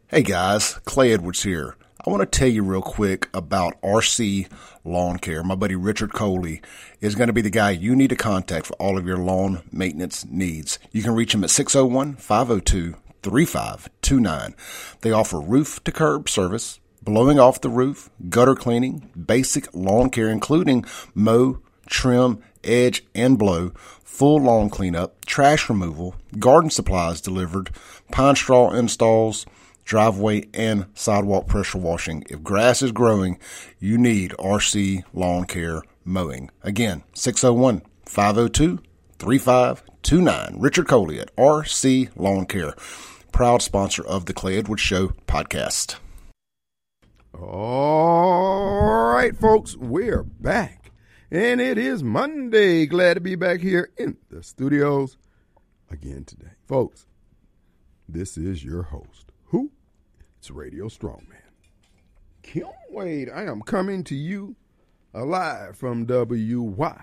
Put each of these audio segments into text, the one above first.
Hey guys, Clay Edwards here. I want to tell you real quick about RC Lawn Care. My buddy Richard Coley is going to be the guy you need to contact for all of your lawn maintenance needs. You can reach him at 601-502-3529. They offer roof to curb service, blowing off the roof, gutter cleaning, basic lawn care including mow, trim, edge, and blow, full lawn cleanup, trash removal, garden supplies delivered, pine straw installs, driveway and sidewalk pressure washing. If grass is growing, you need RC Lawn Care Mowing. Again, 601-502-3529. Richard Coley at RC Lawn Care, proud sponsor of the Clay Edwards Show podcast. All right, folks, we're back. And it is Monday. Glad to be back here in the studios again today. Folks, this is your host. Who? It's Radio Strongman. Kim Wade. I am coming to you live from WYAB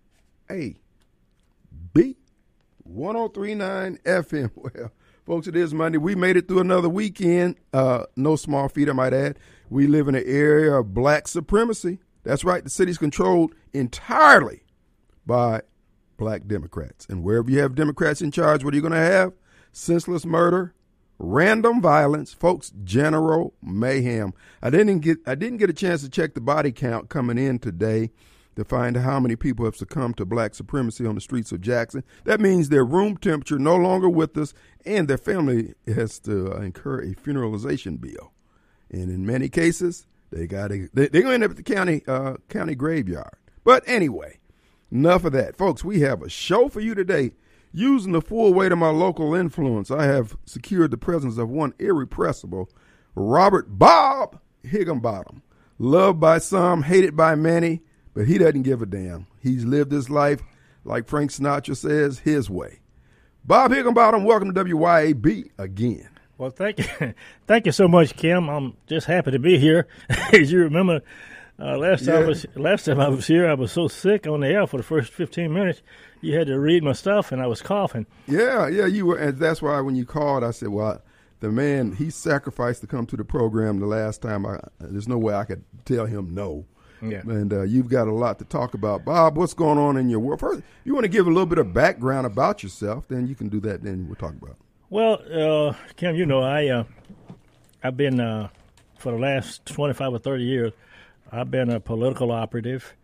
1039 FM. Well, folks, it is Monday. We made it through another weekend. No small feat, I might add. We live in an area of black supremacy. That's right. The city's controlled entirely by black Democrats. And wherever you have Democrats in charge, what are you going to have? Senseless murder, random violence, folks, general mayhem. I didn't get a chance to check the body count coming in today to find out how many people have succumbed to black supremacy on the streets of Jackson. That means their room temperature no longer with us, and their family has to incur a funeralization bill. And in many cases, they're going to end up at the county graveyard. But anyway, enough of that. Folks, we have a show for you today. Using the full weight of my local influence, I have secured the presence of one irrepressible Robert Bob Higginbottom. Loved by some, hated by many, but he doesn't give a damn. He's lived his life, like Frank Sinatra says, his way. Bob Higginbottom, welcome to WYAB again. Well, thank you. Thank you so much, Kim. I'm just happy to be here. As you remember, last time I was here, I was so sick on the air for the first 15 minutes. You had to read my stuff, and I was coughing. Yeah, you were, and that's why when you called, I said, well, the man, he sacrificed to come to the program the last time. There's no way I could tell him no. Yeah. And you've got a lot to talk about. Bob, what's going on in your world? First, you want to give a little bit of background about yourself, then you can do that, then we'll talk about it. Well, Kim, you know, I've been, for the last 25 or 30 years, I've been a political operative.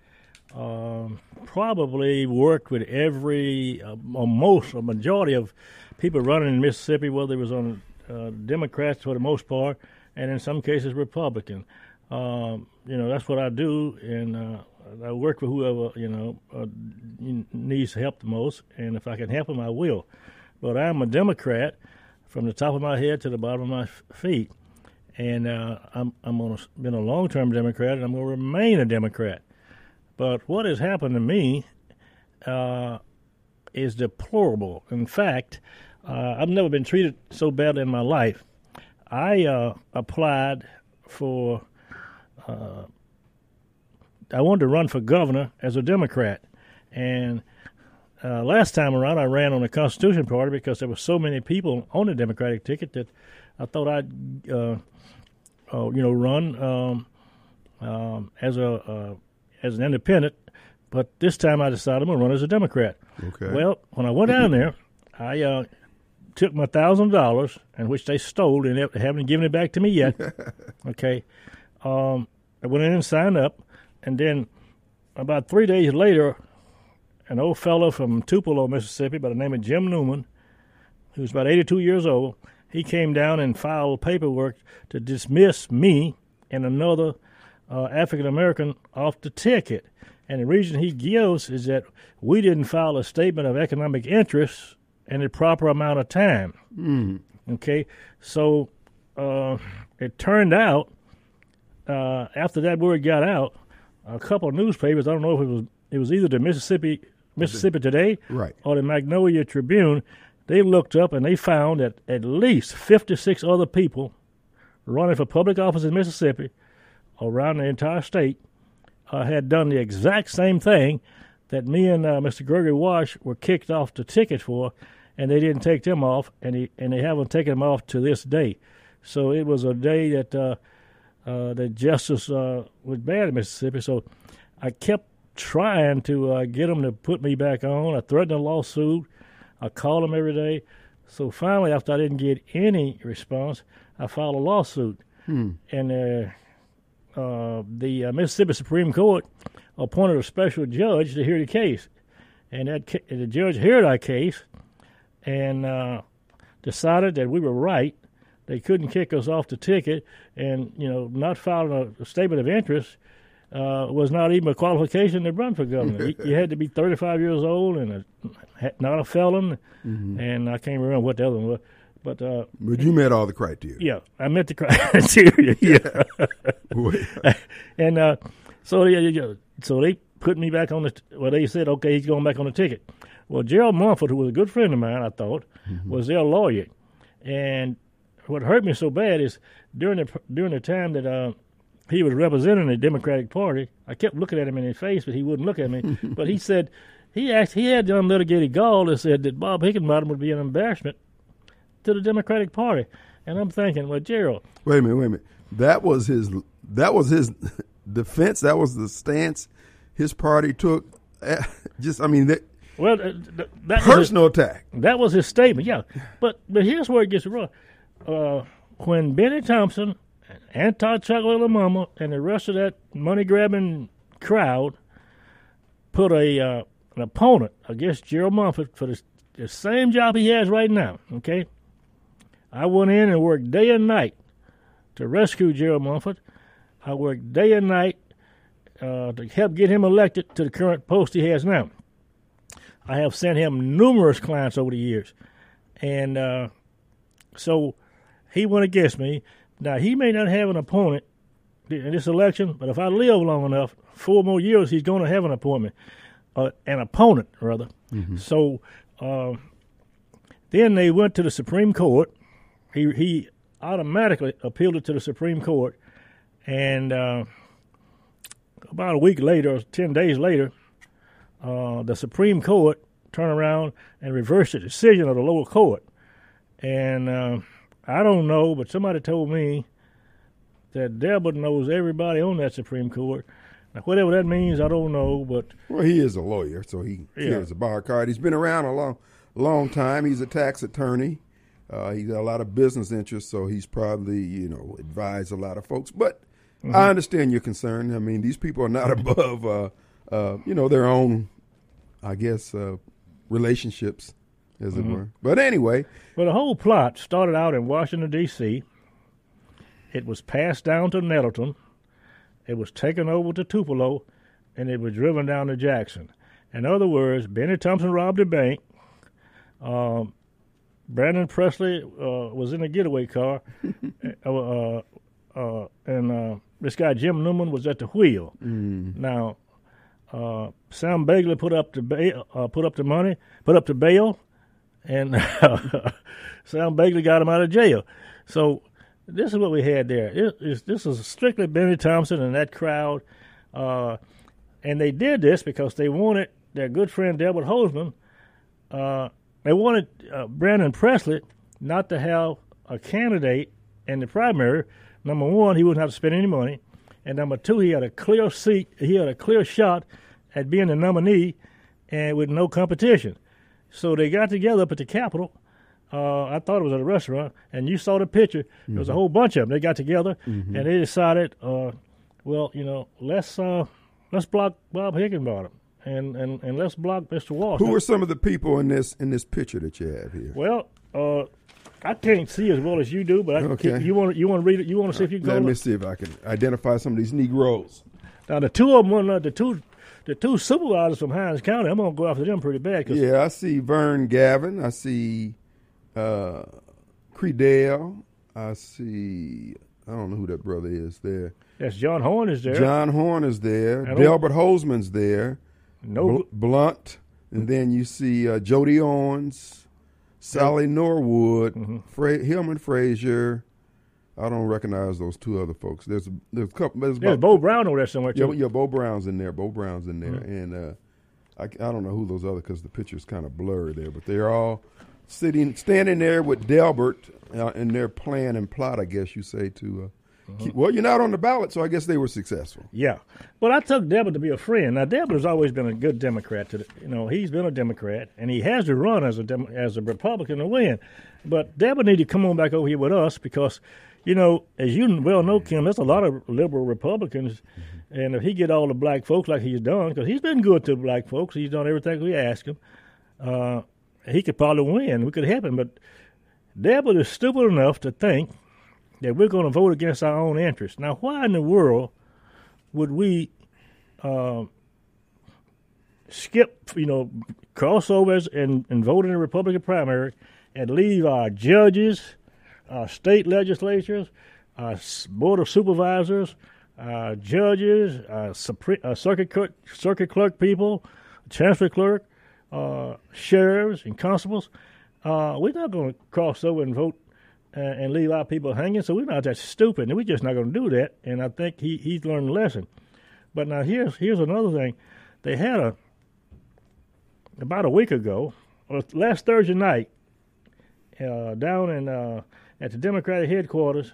Probably worked with a majority of people running in Mississippi, whether it was on Democrats for the most part, and in some cases Republican. That's what I do, and I work with whoever, needs help the most, and if I can help them, I will. But I'm a Democrat from the top of my head to the bottom of my feet, and I'm been a long-term Democrat, and I'm going to remain a Democrat. But what has happened to me is deplorable. In fact, I've never been treated so badly in my life. I applied for I wanted to run for governor as a Democrat, and last time around, I ran on the Constitution Party because there were so many people on the Democratic ticket that I thought I'd, run as an independent. But this time I decided I'm going to run as a Democrat. Okay. Well, when I went down there, I took my $1,000, and which they stole, and they haven't given it back to me yet. Okay. I went in and signed up, and then about 3 days later, an old fellow from Tupelo, Mississippi, by the name of Jim Newman, who's about 82 years old, he came down and filed paperwork to dismiss me and another African-American off the ticket. And the reason he gives is that we didn't file a statement of economic interest in the proper amount of time. Okay? So it turned out, after that word got out, a couple of newspapers, I don't know if it was either the Mississippi Today, right, or the Magnolia Tribune, they looked up and they found that at least 56 other people running for public office in Mississippi around the entire state had done the exact same thing that me and Mr. Gregory Wash were kicked off the ticket for, and they didn't take them off, and they haven't taken them off to this day. So it was a day that the justice was bad in Mississippi. So I kept trying to get them to put me back on. I threatened a lawsuit. I called them every day. So finally, after I didn't get any response, I filed a lawsuit. And the Mississippi Supreme Court appointed a special judge to hear the case. And the judge heard our case and decided that we were right. They couldn't kick us off the ticket, and not filing a statement of interest was not even a qualification to run for governor. You had to be 35 years old and not a felon, and I can't remember what the other one was. But you met all the criteria. Yeah, I met the criteria. Yeah, and so they put me back on the. Well, they said, okay, he's going back on the ticket. Well, Gerald Mumford, who was a good friend of mine, I thought, was their lawyer, and what hurt me so bad is during the time that he was representing the Democratic Party, I kept looking at him in his face, but he wouldn't look at me. But he said he had the unlitigated gall that said that Bob Higginbottom would be an embarrassment to the Democratic Party, and I'm thinking, well, Gerald, wait a minute. That was his defense. That was the stance his party took. That personal attack. That was his statement. Yeah, but here's where it gets wrong. When Benny Thompson, Anti-Chocolate and the rest of that money-grabbing crowd put an opponent against Gerald Mumford for the same job he has right now, okay? I went in and worked day and night to rescue Gerald Mumford. I worked day and night to help get him elected to the current post he has now. I have sent him numerous clients over the years. And so he went against me. Now, he may not have an opponent in this election, but if I live long enough, 4 more years, he's going to have an opponent. So then they went to the Supreme Court. He automatically appealed it to the Supreme Court. And about a week later, 10 days later, the Supreme Court turned around and reversed the decision of the lower court. And I don't know, but somebody told me that Delbert knows everybody on that Supreme Court. Now, whatever that means, I don't know. But well, he is a lawyer, so he carries a bar card. He's been around a long time. He's a tax attorney. He's got a lot of business interests, so he's probably advised a lot of folks. But I understand your concern. I mean, these people are not above their own, I guess, relationships, as it were. But anyway. Well, the whole plot started out in Washington, D.C. It was passed down to Nettleton. It was taken over to Tupelo, and it was driven down to Jackson. In other words, Benny Thompson robbed a bank. Brandon Presley was in a getaway car, and this guy Jim Newman was at the wheel. Now, Sam Bagley put up the bail, and Sam Bagley got him out of jail. So this is what we had there. This is strictly Benny Thompson and that crowd, and they did this because they wanted their good friend Delbert Hosemann. They wanted Brandon Presley not to have a candidate in the primary. Number one, he wouldn't have to spend any money, and number two, he had a clear seat. He had a clear shot at being the nominee, and with no competition. So they got together up at the Capitol. I thought it was at a restaurant, and you saw the picture. There was a whole bunch of them. They got together, and they decided, let's block Bob Higginbottom, and let's block Mr. Walsh. Who are some of the people in this picture that you have here? Well, I can't see as well as you do, but you want to read it. You want to see if you can. Let me see if I can identify some of these Negroes. Now the two of them, the two supervisors from Hinds County. I'm gonna go after them pretty bad. I see Vern Gavin. I see Credell. I see. I don't know who that brother is there. Yes, John Horn is there. John Horn is there. Delbert Hoseman's there. Blunt, and then you see Jody Owens, Sally Norwood, Hillman Frazier. I don't recognize those two other folks. There's a couple. There's Bo Brown over there somewhere too. Yeah, Bo Brown's in there. And I don't know who those other because the picture's kind of blurry there, but they're all standing there with Delbert in their plan and plot, I guess you say, to well, you're not on the ballot, so I guess they were successful. Yeah. But I took Delbert to be a friend. Now, Delbert has always been a good Democrat. He's been a Democrat, and he has to run as a Republican to win. But Delbert needs to come on back over here with us because, as you well know, Kim, there's a lot of liberal Republicans, and if he get all the black folks like he's done, because he's been good to the black folks, he's done everything we asked him, he could probably win. We could help him. But Delbert is stupid enough to think that we're going to vote against our own interests. Now, why in the world would we skip, crossovers and vote in the Republican primary and leave our judges, our state legislatures, our board of supervisors, our judges, our circuit clerk people, chancellor clerk, sheriffs and constables? We're not going to cross over and vote and leave our people hanging, so we're not that stupid, and we're just not going to do that. And I think he's learned a lesson. But now here's another thing. They had about a week ago, or last Thursday night, down at the Democratic headquarters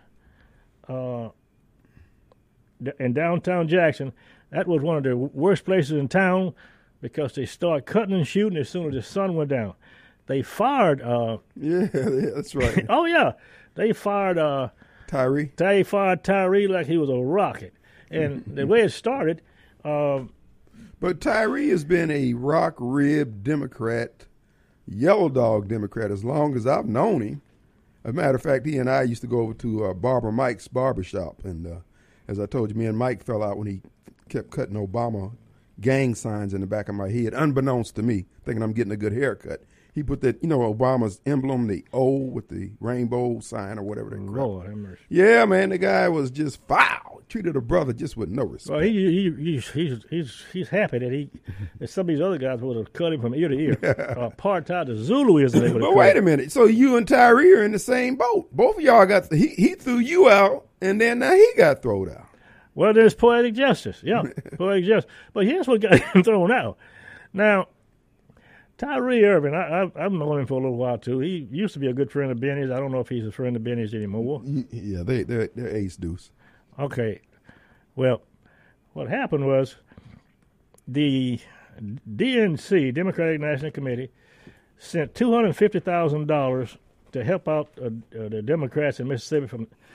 in downtown Jackson. That was one of the worst places in town because they started cutting and shooting as soon as the sun went down. They fired. Yeah, that's right. Oh yeah, they fired Tyree. They fired Tyree like he was a rocket, and the way it started. But Tyree has been a rock-ribbed Democrat, yellow dog Democrat as long as I've known him. As a matter of fact, he and I used to go over to Barbara Mike's barbershop, and as I told you, me and Mike fell out when he kept cutting Obama gang signs in the back of my head, unbeknownst to me, thinking I'm getting a good haircut. He put that, Obama's emblem, the O with the rainbow sign or whatever. Lord have mercy. Yeah, man, the guy was just foul. Treated a brother just with no respect. Well, he's happy that some of these other guys would have cut him from ear to ear. Apartheid to Zulu isn't able to. But wait a minute. So you and Tyree are in the same boat. Both of y'all got he threw you out, and then now he got thrown out. Well, there's poetic justice. Yeah, poetic justice. But here's what got him thrown out. Now, Tyree Irving, I've known him for a little while, too. He used to be a good friend of Benny's. I don't know if he's a friend of Benny's anymore. Yeah, they're ace deuce. Okay. Well, what happened was the DNC, Democratic National Committee, sent $250,000 to help out the Democrats in Mississippi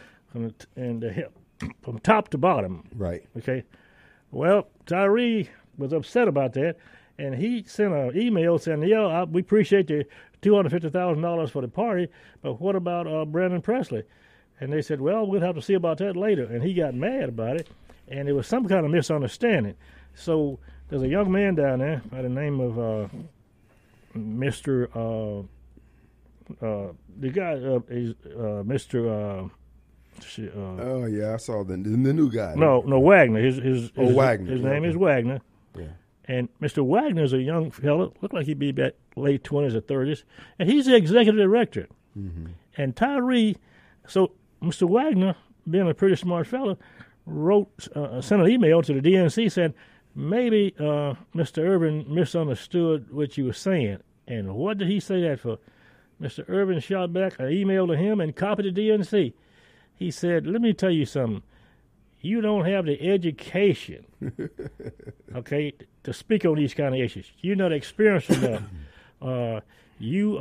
from top to bottom. Right. Okay. Well, Tyree was upset about that. And he sent an email saying, we appreciate the $250,000 for the party, but what about Brandon Presley? And they said, well, we'll have to see about that later. And he got mad about it, and it was some kind of misunderstanding. So there's a young man down there by the name of Mr. The guy is Mr. Oh, yeah, I saw the new guy. No, Wagner. Wagner. His name is Wagner. Yeah. And Mr. Wagner is a young fellow, looked like he'd be about late 20s or 30s, and he's the executive director. Mm-hmm. And Tyree, so Mr. Wagner, being a pretty smart fellow, sent an email to the DNC saying, maybe Mr. Irvin misunderstood what you were saying. And what did he say that for? Mr. Irvin shot back an email to him and copied the DNC. He said, let me tell you something. You don't have the education, okay, to speak on these kind of issues. You're not experienced enough. You're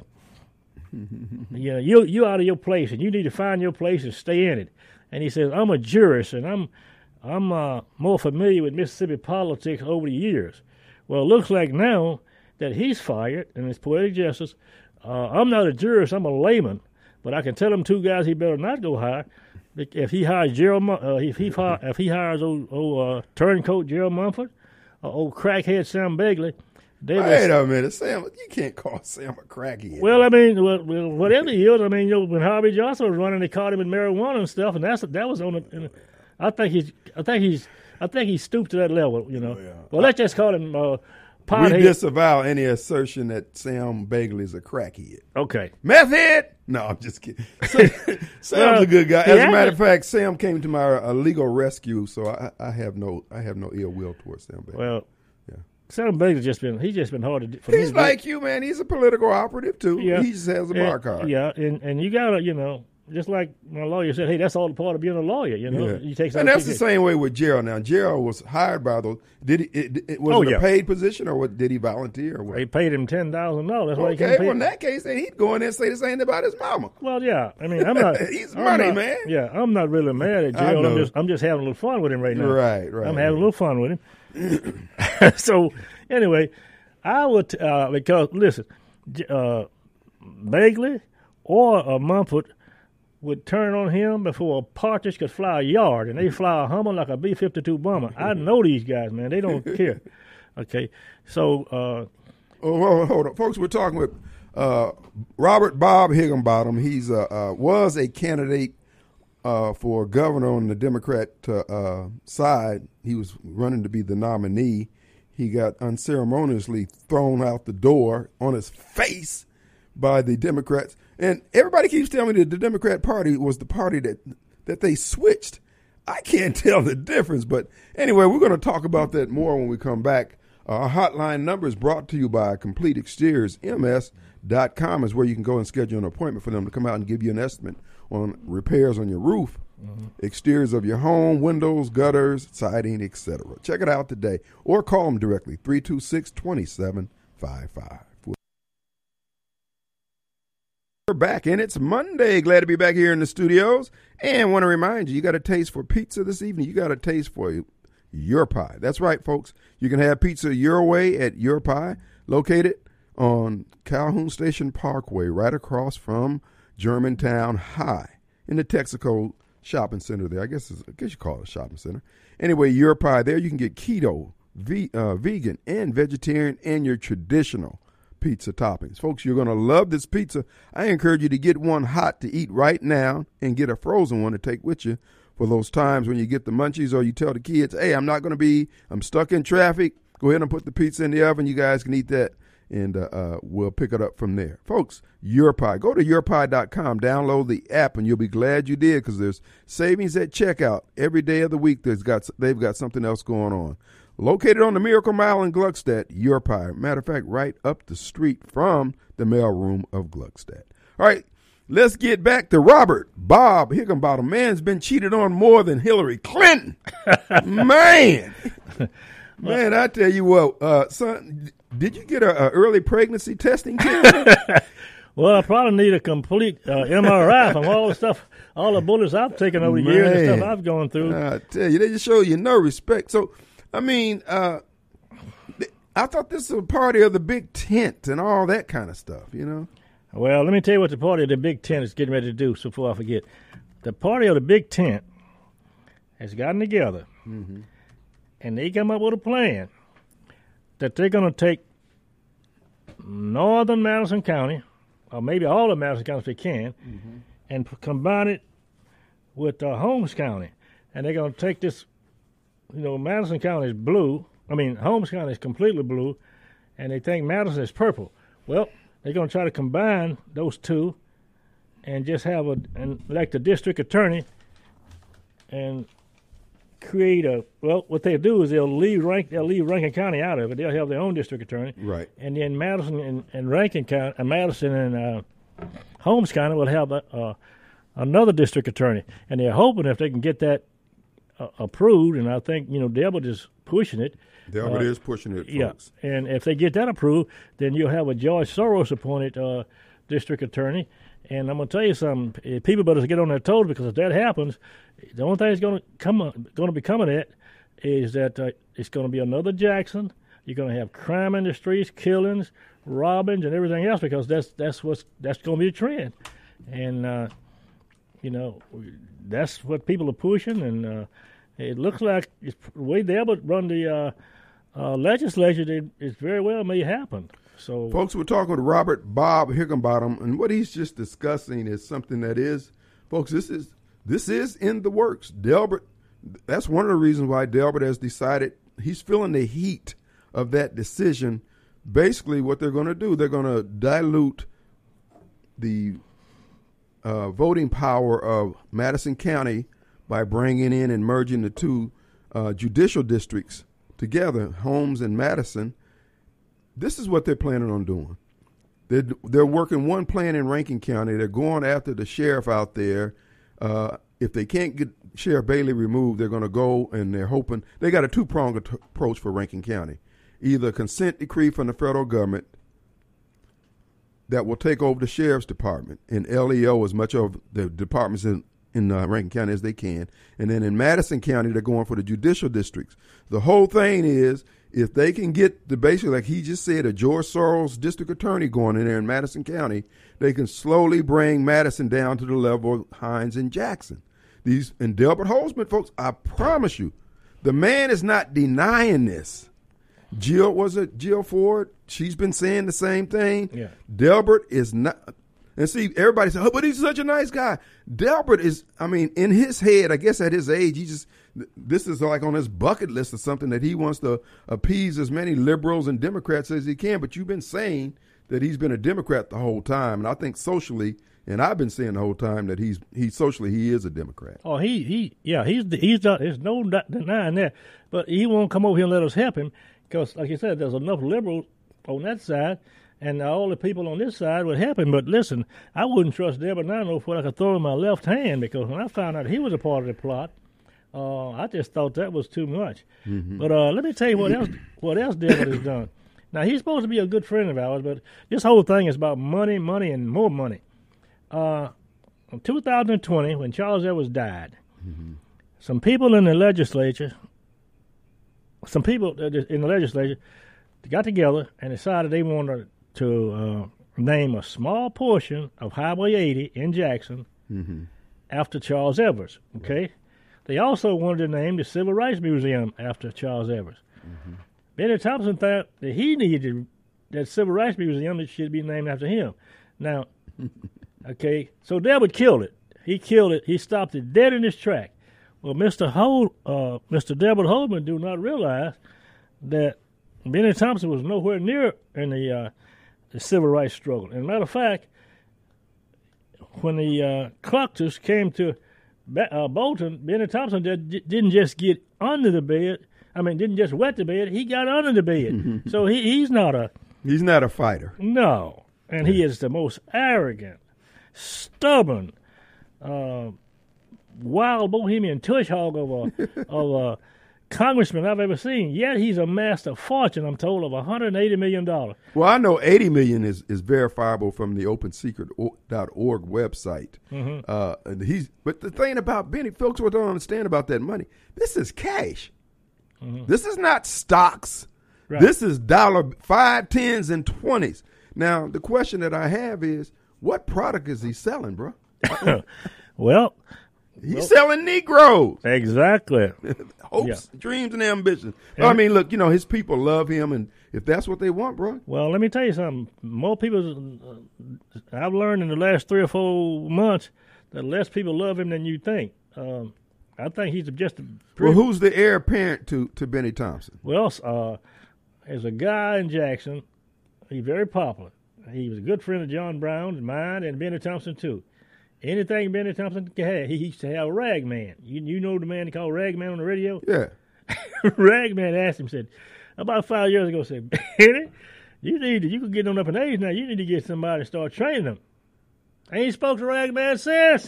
out of your place, and you need to find your place and stay in it. And he says, I'm a jurist, and I'm more familiar with Mississippi politics over the years. Well, it looks like now that he's fired, and it's poetic justice. I'm not a jurist, I'm a layman, but I can tell them two guys he better not go hire. If he hires if he hires old turncoat Gerald Mumford, old crackhead Sam Begley. Wait a minute, Sam! You can't call Sam a crackhead. Well, I mean, whatever he is, I mean, when Harvey Johnson was running, they caught him with marijuana and stuff, and that was on the. I think he stooped to that level, Oh, yeah. Well, let's just call him. We disavow any assertion that Sam Begley is a crackhead. Okay. Meth head? No, I'm just kidding. Sam's a good guy. As a matter of fact, Sam came to my legal rescue, so I have no ill will towards Sam Begley. Well, Sam Baker's just been hard to. He's like you, man. He's a political operative too. Yeah. He just has a bar card. Yeah, and you gotta, just like my lawyer said, hey, that's all the part of being a lawyer. Yeah. You take. And that's the same way with Gerald. Now Gerald was hired by those. Did he? Was it a paid position or what? Did he volunteer or what? They paid him $10,000. That's why he Okay, well in that case, then he'd go in there and say the same thing about his mama. Well, yeah. I mean, I'm not. He's money, man. Yeah, I'm not really mad at Gerald. I'm just having a little fun with him right now. Right. I'm having a little fun with him. So anyway, I would because listen, Bagley or Mumford would turn on him before a partridge could fly a yard, and they fly a Hummer like a B-52 bomber. I know these guys, man. They don't care. Okay, so hold on, folks. We're talking with Robert Bob Higginbottom. He's was a candidate for governor on the Democrat side. He was running to be the nominee. He got unceremoniously thrown out the door on his face by the Democrats. And everybody keeps telling me that the Democrat Party was the party that they switched. I can't tell the difference. But anyway, we're going to talk about that more when we come back. Our hotline number is brought to you by Complete Exteriors. MS.com is where you can go and schedule an appointment for them to come out and give you an estimate on repairs on your roof, exteriors of your home, windows, gutters, siding, etc. Check it out today or call them directly, 326-2755. We're back, and it's Monday. Glad to be back here in the studios. And want to remind you, you got a taste for pizza this evening. You got a taste for Your Pie. That's right, folks. You can have pizza your way at Your Pie, located on Calhoun Station Parkway, right across from Germantown High in the Texaco Shopping Center there. I guess you call it a shopping center. Anyway, Your Pie, there you can get keto, vegan, and vegetarian, and your traditional pizza toppings. Folks, you're going to love this pizza. I encourage you to get one hot to eat right now and get a frozen one to take with you for those times when you get the munchies or you tell the kids, hey, I'm stuck in traffic. Go ahead and put the pizza in the oven. You guys can eat that, and we'll pick it up from there. Folks, Your Pie. Go to yourpie.com, download the app, and you'll be glad you did because there's savings at checkout every day of the week. They've got something else going on. Located on the Miracle Mile in Gluckstadt, Your Pie. Matter of fact, right up the street from the mailroom of Gluckstadt. All right, let's get back to Robert Bob Higginbottom. Man's been cheated on more than Hillary Clinton. Man, I tell you what, son, did you get an early pregnancy testing kit? Well, I probably need a complete MRI from all the stuff, all the bullets I've taken over the years and stuff I've gone through. I tell you, they just show you no respect. So, I mean, I thought this was a party of the big tent and all that kind of stuff, you know? Well, let me tell you what the party of the big tent is getting ready to do before I forget. The party of the big tent has gotten together, and they come up with a plan that they're going to take northern Madison County, or maybe all of Madison County if they can, and combine it with Holmes County. And they're going to take this. Madison County is blue. Holmes County is completely blue, and they think Madison is purple. Well, they're going to try to combine those two and just have elect a district attorney and create what they'll do is they'll leave Rankin County out of it. They'll have their own district attorney. Right. And then Madison and Rankin County, Madison and Holmes County will have another district attorney. And they're hoping if they can get that approved, and I think Delbert is pushing it. Delbert is pushing it, folks. Yeah, and if they get that approved, then you'll have a George Soros appointed district attorney. And I'm going to tell you something: people better get on their toes because if that happens, the only thing that's going to be coming at is that it's going to be another Jackson. You're going to have crime in the streets, killings, robbings, and everything else because that's going to be a trend. And that's what people are pushing, and it looks like the way they ever run the legislature, it very well may happen. So, folks, we're talking with Robert Bob Higginbottom, and what he's just discussing is something that is, folks, this is in the works. Delbert, that's one of the reasons why Delbert has decided he's feeling the heat of that decision. Basically, what they're going to do, they're going to dilute the voting power of Madison County by bringing in and merging the two judicial districts together, Holmes and Madison, this is what they're planning on doing. They're working one plan in Rankin County. They're going after the sheriff out there. If they can't get Sheriff Bailey removed, they're going to go, and they're hoping they got a two-pronged approach for Rankin County. Either a consent decree from the federal government that will take over the sheriff's department and LEO as much of the departments in Rankin County as they can. And then in Madison County, they're going for the judicial districts. The whole thing is, if they can get basically, like he just said, a George Soros district attorney going in there in Madison County, they can slowly bring Madison down to the level of Hines and Jackson. And Delbert Holzman, folks, I promise you, the man is not denying this. Jill Ford, she's been saying the same thing. Yeah. Delbert is not. And see, everybody says, oh, but he's such a nice guy. Delbert is, in his head, I guess at his age, this is like on his bucket list or something that he wants to appease as many liberals and Democrats as he can. But you've been saying that he's been a Democrat the whole time. And I think socially, and I've been saying the whole time that he socially is a Democrat. Oh, he's there's no denying that. But he won't come over here and let us help him because, like you said, there's enough liberals on that side. And all the people on this side would help him. But listen, I wouldn't trust Delbert Nano for what I could throw in my left hand, because when I found out he was a part of the plot, I just thought that was too much. Mm-hmm. But let me tell you what else Delbert has done. Now, he's supposed to be a good friend of ours, but this whole thing is about money, and more money. In 2020, when Charles Edwards died, some people in the legislature got together and decided they wanted to name a small portion of Highway 80 in Jackson after Charles Edwards, okay? They also wanted to name the Civil Rights Museum after Charles Edwards. Benny Thompson thought that he needed that Civil Rights Museum that should be named after him. Now, okay, so Delbert killed it. He killed it. He stopped it dead in its track. Well, Mr. Delbert Holzman do not realize that Benny Thompson was nowhere near in the civil rights struggle. As a matter of fact, when the Cluckers came to Bolton, Benny Thompson didn't just get under the bed. Didn't just wet the bed. He got under the bed. So he's not a fighter. No, and he is the most arrogant, stubborn, wild bohemian tush hog of a congressman I've ever seen. Yet he's amassed a fortune, I'm told, of $180 million. Well, I know $80 million is verifiable from the OpenSecret.org website. But the thing about Benny, folks, what don't understand about that money, this is cash. This is not stocks. Right. This is $5, 10s, and 20s. Now, the question that I have is, what product is he selling, bro? Well, he's selling Negroes. Exactly. Hopes, dreams, and ambitions. And look, his people love him, and if that's what they want, bro. Well, let me tell you something. More people, I've learned in the last 3 or 4 months that less people love him than you think. I think he's just well, who's the heir apparent to Benny Thompson? Well, there's a guy in Jackson. He's very popular. He was a good friend of John Brown, mine, and Benny Thompson, too. Anything Benny Thompson could have, he used to have Ragman. You know the man they call Ragman on the radio? Yeah. Ragman asked him, said, about 5 years ago, said, Benny, you could get on up in age now. You need to get somebody to start training them. I ain't spoke to Ragman since.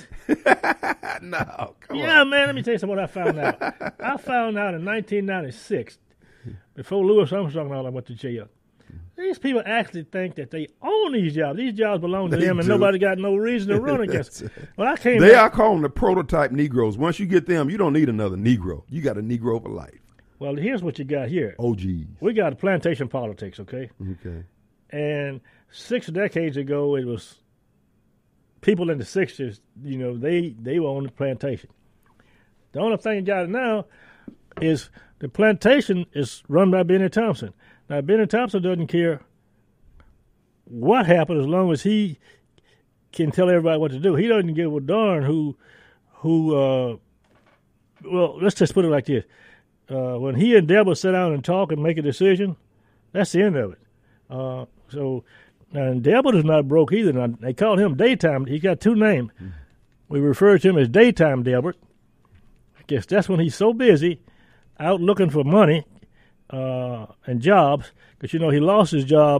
No, come on. Yeah, man, let me tell you something what I found out. I found out in 1996, before Louis Armstrong and all I went to jail. These people actually think that they own these jobs. These jobs belong to them, and nobody got no reason to run against them. Well, They are calling the prototype Negroes. Once you get them, you don't need another Negro. You got a Negro for life. Well, here's what you got here. OGs. We got plantation politics, okay? Okay. And 6 decades ago, it was people in the 60s, they were on the plantation. The only thing you got now is the plantation is run by Benny Thompson. Now, Benny Thompson doesn't care what happened as long as he can tell everybody what to do. He doesn't give a darn well, let's just put it like this. When he and Deborah sit down and talk and make a decision, that's the end of it. And Delbert is not broke either. Now, they call him Daytime. He's got 2 names. We refer to him as Daytime Delbert. I guess that's when he's so busy out looking for money and jobs, because he lost his job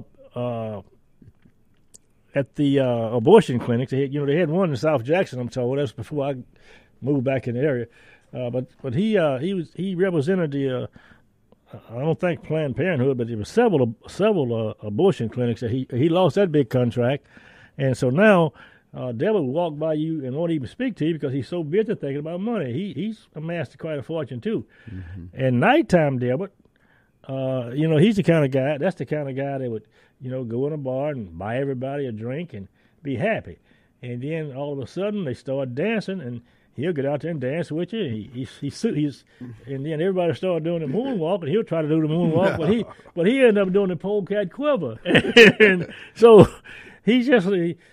at the abortion clinics. They had one in South Jackson, I'm told. That's before I moved back in the area. But he represented the I don't think Planned Parenthood, but there were several abortion clinics that he lost that big contract, and so now Delbert will walk by you and won't even speak to you because he's so busy thinking about money. He's amassed quite a fortune too. Mm-hmm. And nighttime Delbert, he's the kind of guy. That's the kind of guy that would go in a bar and buy everybody a drink and be happy, and then all of a sudden they start dancing and he'll get out there and dance with you. He's and then everybody started doing the moonwalk, and he'll try to do the moonwalk, but he ended up doing the polecat quiver, and so he's just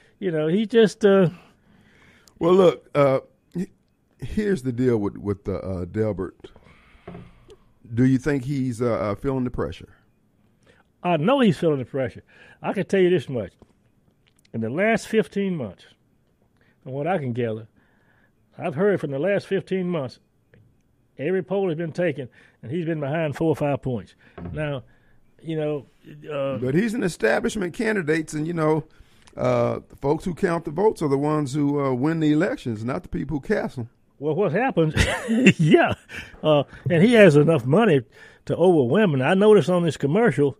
Well, look, here's the deal with Delbert. Do you think he's feeling the pressure? I know he's feeling the pressure. I can tell you this much: in the last 15 months, from what I can gather, I've heard from the last 15 months, every poll has been taken, and he's been behind 4 or 5 points. Now, but he's an establishment candidate, and the folks who count the votes are the ones who win the elections, not the people who cast them. Well, what happens? Yeah, and he has enough money to overwhelm. And I noticed on this commercial,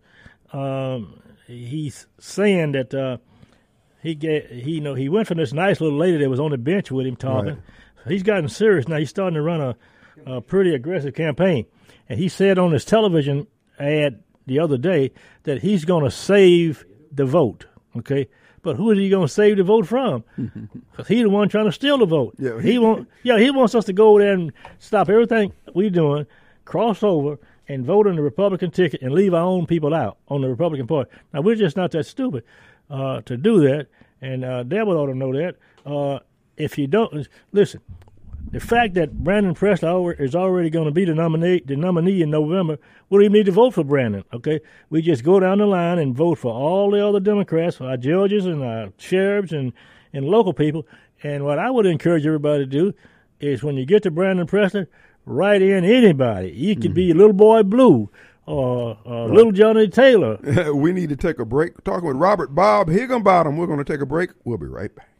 he's saying that he went from this nice little lady that was on the bench with him talking. Right. He's gotten serious now. He's starting to run a pretty aggressive campaign. And he said on his television ad the other day that he's going to save the vote, okay? But who is he going to save the vote from? Because he's the one trying to steal the vote. Yeah, he wants us to go over there and stop everything we're doing, cross over, and vote on the Republican ticket and leave our own people out on the Republican Party. Now, we're just not that stupid to do that, and Delbert ought to know that. If you don't, listen, the fact that Brandon Presley is already going to be the nominee in November, we don't even need to vote for Brandon, okay? We just go down the line and vote for all the other Democrats, our judges and our sheriffs and local people. And what I would encourage everybody to do is when you get to Brandon Presley, write in anybody. You could be Little Boy Blue or Little Johnny Taylor. We need to take a break. We're talking with Robert Bob Higginbottom. We're going to take a break. We'll be right back.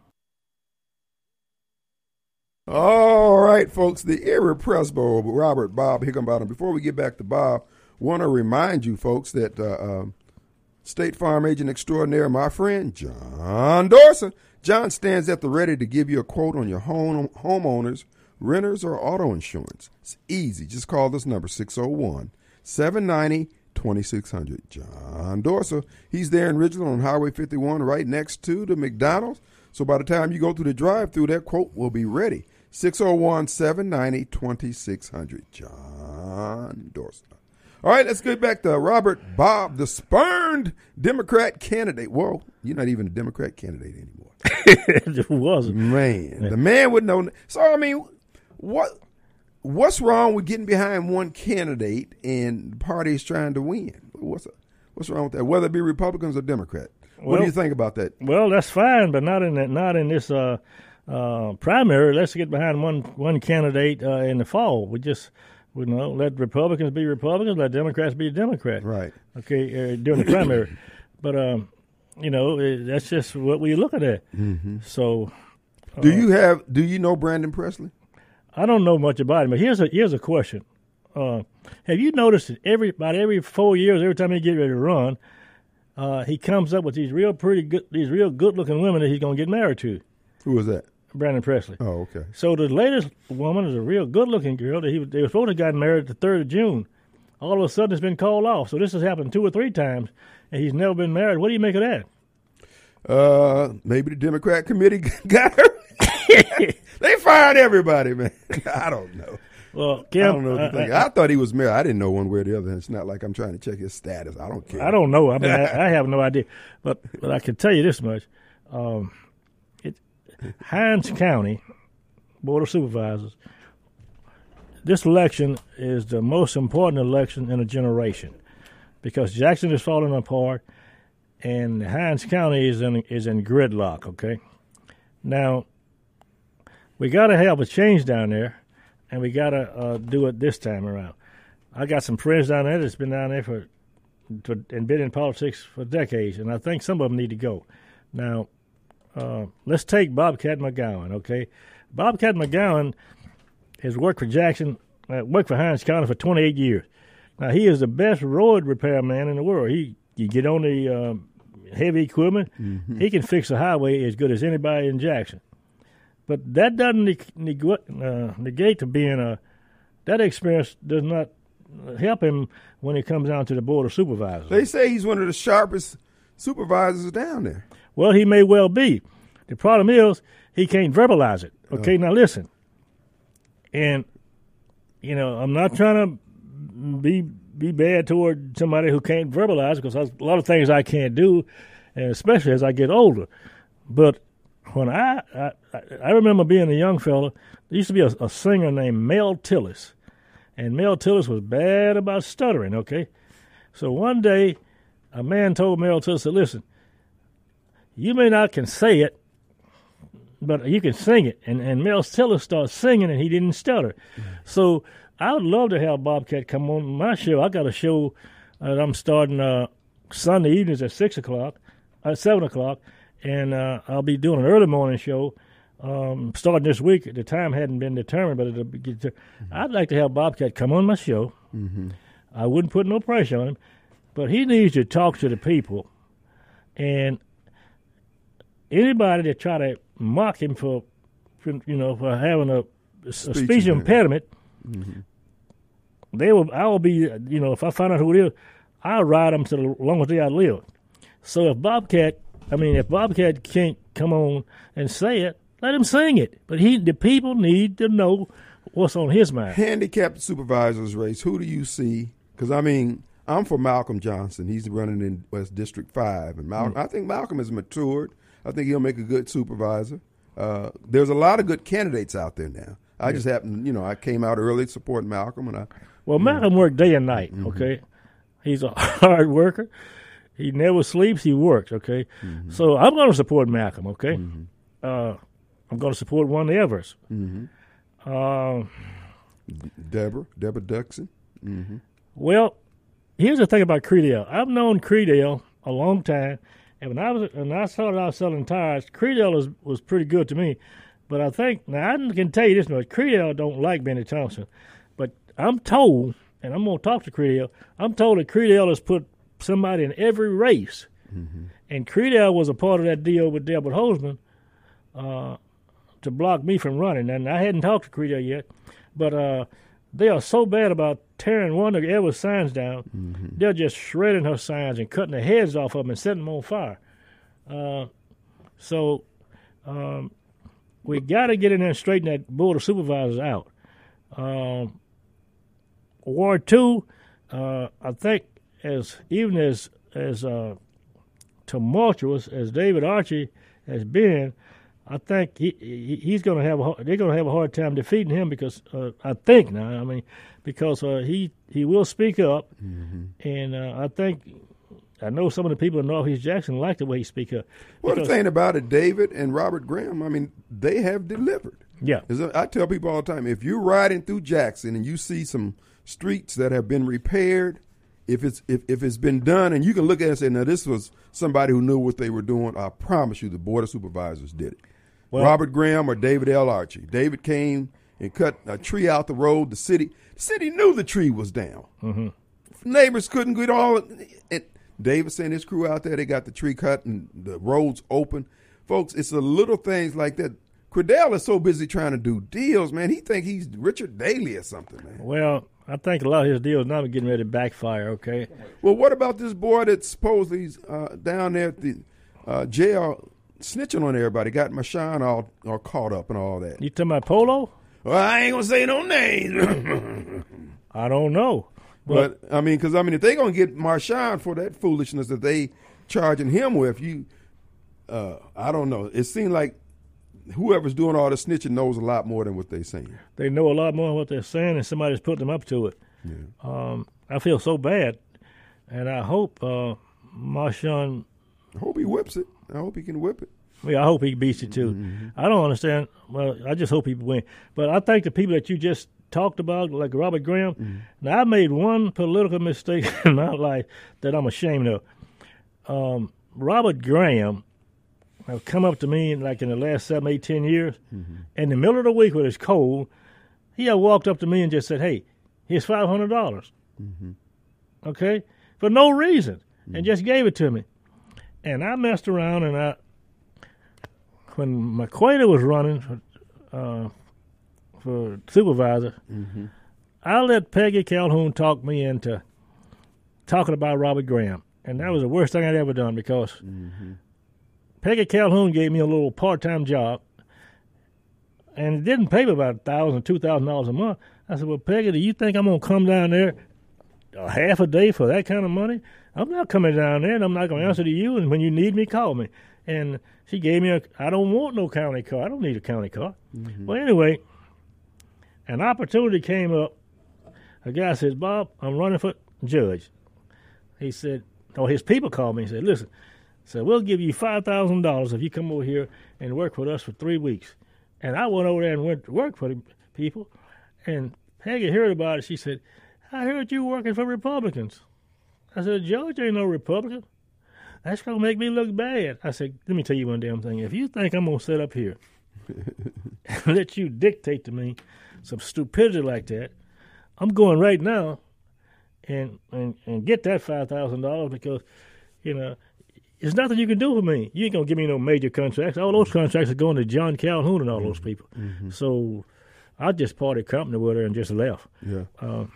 All right, folks, the irrepressible Robert Bob Higginbottom. Before we get back to Bob, want to remind you, folks, that State Farm agent extraordinaire, my friend, John Dorsey. John stands at the ready to give you a quote on your homeowners, renters, or auto insurance. It's easy. Just call this number, 601-790-2600. John Dorsey. He's there in Ridgeland on Highway 51 right next to the McDonald's. So by the time you go through the drive-through, that quote will be ready. 601-790-2600. John Dorsey. All right, let's get back to Robert Bob, the spurned Democrat candidate. Well, you're not even a Democrat candidate anymore. It wasn't. Man, the man would know. So, I mean, what's wrong with getting behind one candidate and the party is trying to win? What's wrong with that, whether it be Republicans or Democrat? What do you think about that? Well, that's fine, but not in this primary. Let's get behind one candidate in the fall. We let Republicans be Republicans, let Democrats be Democrats. Right. Okay, during the primary. But that's just what we're looking at. Mm-hmm. So, do you know Brandon Presley? I don't know much about him, but here's a question. Have you noticed that about every 4 years, every time he get ready to run, he comes up with these real good-looking women that he's going to get married to? Who was that? Brandon Presley. Oh, okay. So the latest woman is a real good-looking girl that they were supposed to have gotten married the 3rd of June. All of a sudden, it's been called off. So this has happened 2 or 3 times, and he's never been married. What do you make of that? Maybe the Democrat committee got her. They fired everybody, man. I don't know. Well, Kim, I don't know what to think. I thought he was married. I didn't know one way or the other. It's not like I'm trying to check his status. I don't care. I don't know. I mean, I have no idea. But I can tell you this much. Hinds County Board of Supervisors, this election is the most important election in a generation because Jackson is falling apart and Hinds County is in gridlock, okay? Now, we got to have a change down there, and we got to do it this time around. I got some friends down there that's been down there and been in politics for decades, and I think some of them need to go. Now, let's take Bobcat McGowan, okay? Bobcat McGowan has worked for worked for Hinds County for 28 years. Now, he is the best road repairman in the world. You get on the heavy equipment, he can fix a highway as good as anybody in Jackson. But that doesn't negate to being that experience does not help him when it comes down to the Board of Supervisors. They say he's one of the sharpest supervisors down there. Well, he may well be. The problem is he can't verbalize it. Okay, now listen. And, I'm not trying to be bad toward somebody who can't verbalize, because there's a lot of things I can't do, and especially as I get older. But when I remember being a young fella, there used to be a singer named Mel Tillis. And Mel Tillis was bad about stuttering, okay? So one day, a man told Mel Tillis, listen, you may not can say it, but you can sing it. And Mel Tillis started singing, and he didn't stutter. So I would love to have Bobcat come on my show. I got a show that I'm starting Sunday evenings at 7 o'clock, and I'll be doing an early morning show starting this week. The time hadn't been determined, but it'll be. I'd like to have Bobcat come on my show. I wouldn't put no pressure on him, but he needs to talk to the people, and anybody that try to mock him for having a speech impediment, I will be, if I find out who it is, I'll ride them to the longest day I live. So if Bobcat can't come on and say it, let him sing it. But the people need to know what's on his mind. Handicapped supervisors race, who do you see? Because, I'm for Malcolm Johnson. He's running in West District 5. And I think Malcolm has matured. I think he'll make a good supervisor. There's a lot of good candidates out there now. I just happened, I came out early supporting Malcolm. Malcolm worked day and night, okay? He's a hard worker. He never sleeps. He works, okay? So I'm going to support Malcolm, okay? I'm going to support one of the Everett's. Deborah Duxon. Well, here's the thing about Credell. I've known Credell a long time, and when I started out selling tires, Credell was pretty good to me. But I think, now I can tell you this much, Credell don't like Benny Thompson. But I'm told, and I'm going to talk to Credell, I'm told that Credell has put somebody in every race. And Credell was a part of that deal with Delbert Holzman to block me from running. And I hadn't talked to Credell yet, but they are so bad about tearing one of Everett's signs down. They're just shredding her signs and cutting the heads off of them and setting them on fire. So we got to get in there and straighten that Board of Supervisors out. Ward 2, I think, as tumultuous as David Archie has been, I think he's going to they're going to have a hard time defeating him because he will speak up, and I know some of the people in Northeast Jackson like the way he speaks up. Well, the thing about it, David and Robert Graham, they have delivered. Yeah, I tell people all the time, if you're riding through Jackson and you see some streets that have been repaired, if it's been done, and you can look at it and say, now this was somebody who knew what they were doing, I promise you the Board of Supervisors did it. Well, Robert Graham or David L. Archie. David came and cut a tree out the road. The city knew the tree was down. Neighbors couldn't get all it. David sent his crew out there. They got the tree cut and the roads open. Folks, it's the little things like that. Credell is so busy trying to do deals, man. He think he's Richard Daley or something, man. Well, I think a lot of his deals now are getting ready to backfire, okay? Well, what about this boy that supposedly down there at the jail snitching on everybody, got Marshawn all caught up and all that? You talking about Polo? Well, I ain't going to say no names. I don't know. But because if they're going to get Marshawn for that foolishness that they charging him with, I don't know. It seems like whoever's doing all the snitching knows a lot more than what they're saying. They know a lot more than what they're saying, and somebody's putting them up to it. Yeah. I feel so bad, and I hope Marshawn. I hope he whips it. I hope he can whip it. Yeah, I hope he beats it too. I don't understand. Well, I just hope he wins. But I think the people that you just talked about, like Robert Graham. Now, I made one political mistake in my life that I'm ashamed of. Robert Graham have come up to me like in the last 7, 8, 10 years. In the middle of the week when it's cold, he had walked up to me and just said, "Hey, here's $500." Okay? For no reason. And just gave it to me. And I messed around, and when McQuaid was running for supervisor, I let Peggy Calhoun talk me into talking about Robert Graham. And that was the worst thing I'd ever done because Peggy Calhoun gave me a little part-time job, and it didn't pay me about $1,000, $2,000 a month. I said, "Well, Peggy, do you think I'm going to come down there a half a day for that kind of money? I'm not coming down there, and I'm not going to answer to you, and when you need me, call me." And she gave me I don't want no county car. I don't need a county car. Well, anyway, an opportunity came up. A guy says, "Bob, I'm running for judge." He said, his people called me and said, "Listen, so we'll give you $5,000 if you come over here and work with us for 3 weeks." And I went over there and went to work for the people. And Peggy heard about it. She said, "I heard you working for Republicans." I said, "George ain't no Republican. That's going to make me look bad." I said, "Let me tell you one damn thing. If you think I'm going to sit up here and let you dictate to me some stupidity like that, I'm going right now and get that $5,000 because, there's nothing you can do for me. You ain't going to give me no major contracts. All those contracts are going to John Calhoun and all those people." So I just parted company with her and just left. Yeah.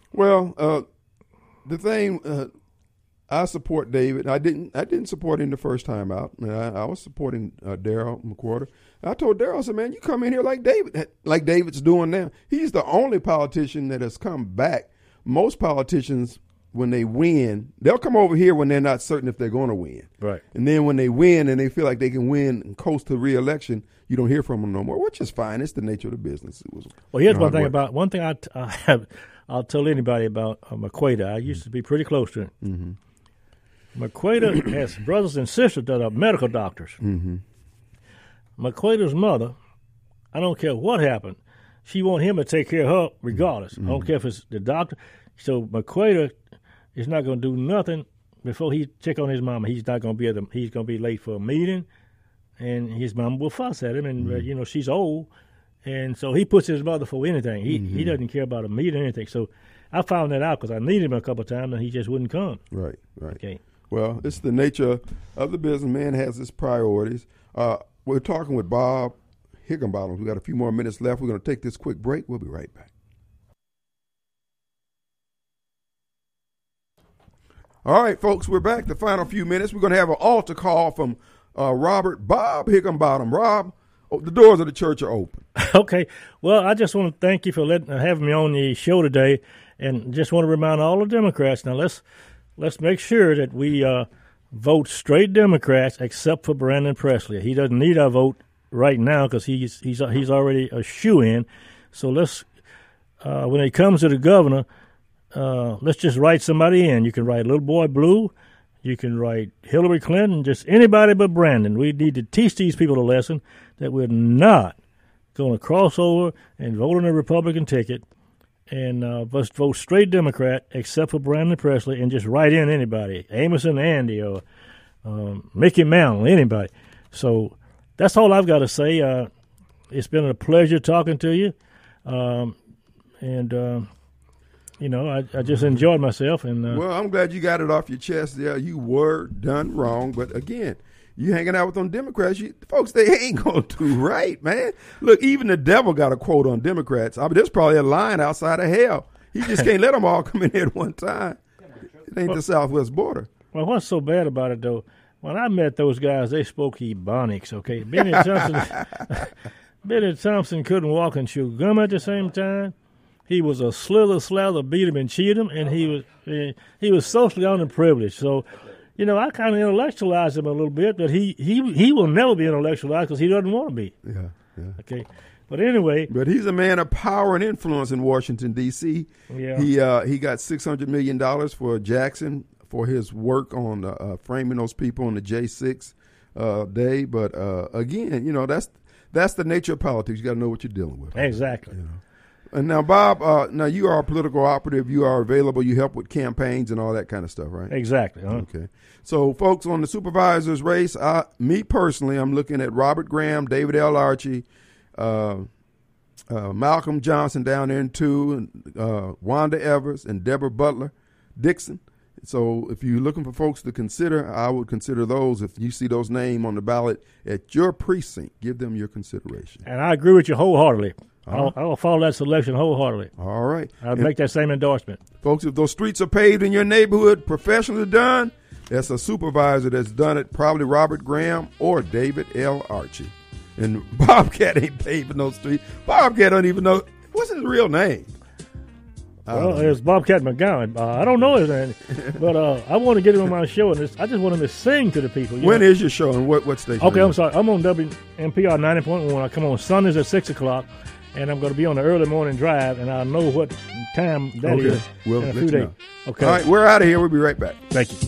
The thing, I support David. I didn't support him the first time out. I was supporting Darrell McWhorter. I told Darrell, I said, "Man, you come in here like David's doing now." He's the only politician that has come back. Most politicians, when they win, they'll come over here when they're not certain if they're going to win. Right. And then when they win and they feel like they can win and coast to re-election, you don't hear from them no more, which is fine. It's the nature of the business. Well, here's one thing I'll tell anybody about McQuaid. I used to be pretty close to him. McQuaid has brothers and sisters that are medical doctors. McQuaid's mother, I don't care what happened, she want him to take care of her regardless. I don't care if it's the doctor. So McQuaid is not going to do nothing before he check on his mama. He's not going to be he's going to be late for a meeting, and his mama will fuss at him. And she's old, and so he puts his mother for anything. He doesn't care about a meeting or anything. So I found that out because I needed him a couple of times, and he just wouldn't come. Right. Okay. Well, it's the nature of the business. Man has his priorities. We're talking with Bob Higginbottom. We got a few more minutes left. We're going to take this quick break. We'll be right back. All right, folks, we're back. The final few minutes. We're going to have an altar call from Bob Higginbottom. Rob, the doors of the church are open. Okay. Well, I just want to thank you for having me on the show today, and just want to remind all the Democrats, now let's make sure that we vote straight Democrats except for Brandon Presley. He doesn't need our vote right now because he's already a shoo-in. So let's when it comes to the governor, let's just write somebody in. You can write Little Boy Blue. You can write Hillary Clinton, just anybody but Brandon. We need to teach these people a lesson that we're not going to cross over and vote on a Republican ticket and let's vote straight Democrat except for Brandon Presley and just write in anybody, Amos and Andy or Mickey Mantle, anybody. So that's all I've got to say. It's been a pleasure talking to you. I just enjoyed myself. Well, I'm glad you got it off your chest there. You were done wrong. But, again, you hanging out with them Democrats, folks, they ain't going to do right, man. Look, even the devil got a quote on Democrats. I mean, there's probably a line outside of hell. He just can't let them all come in here at one time. It ain't the southwest border. Well, what's so bad about it, though, when I met those guys, they spoke Ebonics, okay? Benny Thompson couldn't walk and chew gum at the same time. He was a slather, beat him and cheat him, and he was socially underprivileged. So, I kind of intellectualized him a little bit, but he will never be intellectualized because he doesn't want to be. Yeah. Okay. But anyway. But he's a man of power and influence in Washington, D.C. Yeah. He got $600 million for Jackson for his work on framing those people on the J6 day. But, again, that's the nature of politics. You got to know what you're dealing with. Exactly. And now, Bob, now you are a political operative. You are available. You help with campaigns and all that kind of stuff, right? Exactly. Okay. So, folks, on the supervisor's race, me personally, I'm looking at Robert Graham, David L. Archie, Malcolm Johnson down there in 2, and Wanda Evers and Deborah Butler Dixon. So if you're looking for folks to consider, I would consider those. If you see those names on the ballot at your precinct, give them your consideration. And I agree with you wholeheartedly. I'll follow that selection wholeheartedly. All right. I'll make that same endorsement. Folks, if those streets are paved in your neighborhood, professionally done, that's a supervisor that's done it, probably Robert Graham or David L. Archie. And Bobcat ain't paving those streets. Bobcat don't even know. What's his real name? Well, it's Bobcat McGowan. I don't know his name, but I want to get him on my show, and I just want him to sing to the people. When is your show, and what station? Okay, I'm sorry. I'm on WMPR 90.1. I come on Sundays at 6 o'clock, and I'm going to be on the early morning drive, and I'll know what time that is we'll in a let few you days. know. Okay. All right, we're out of here. We'll be right back. Thank you.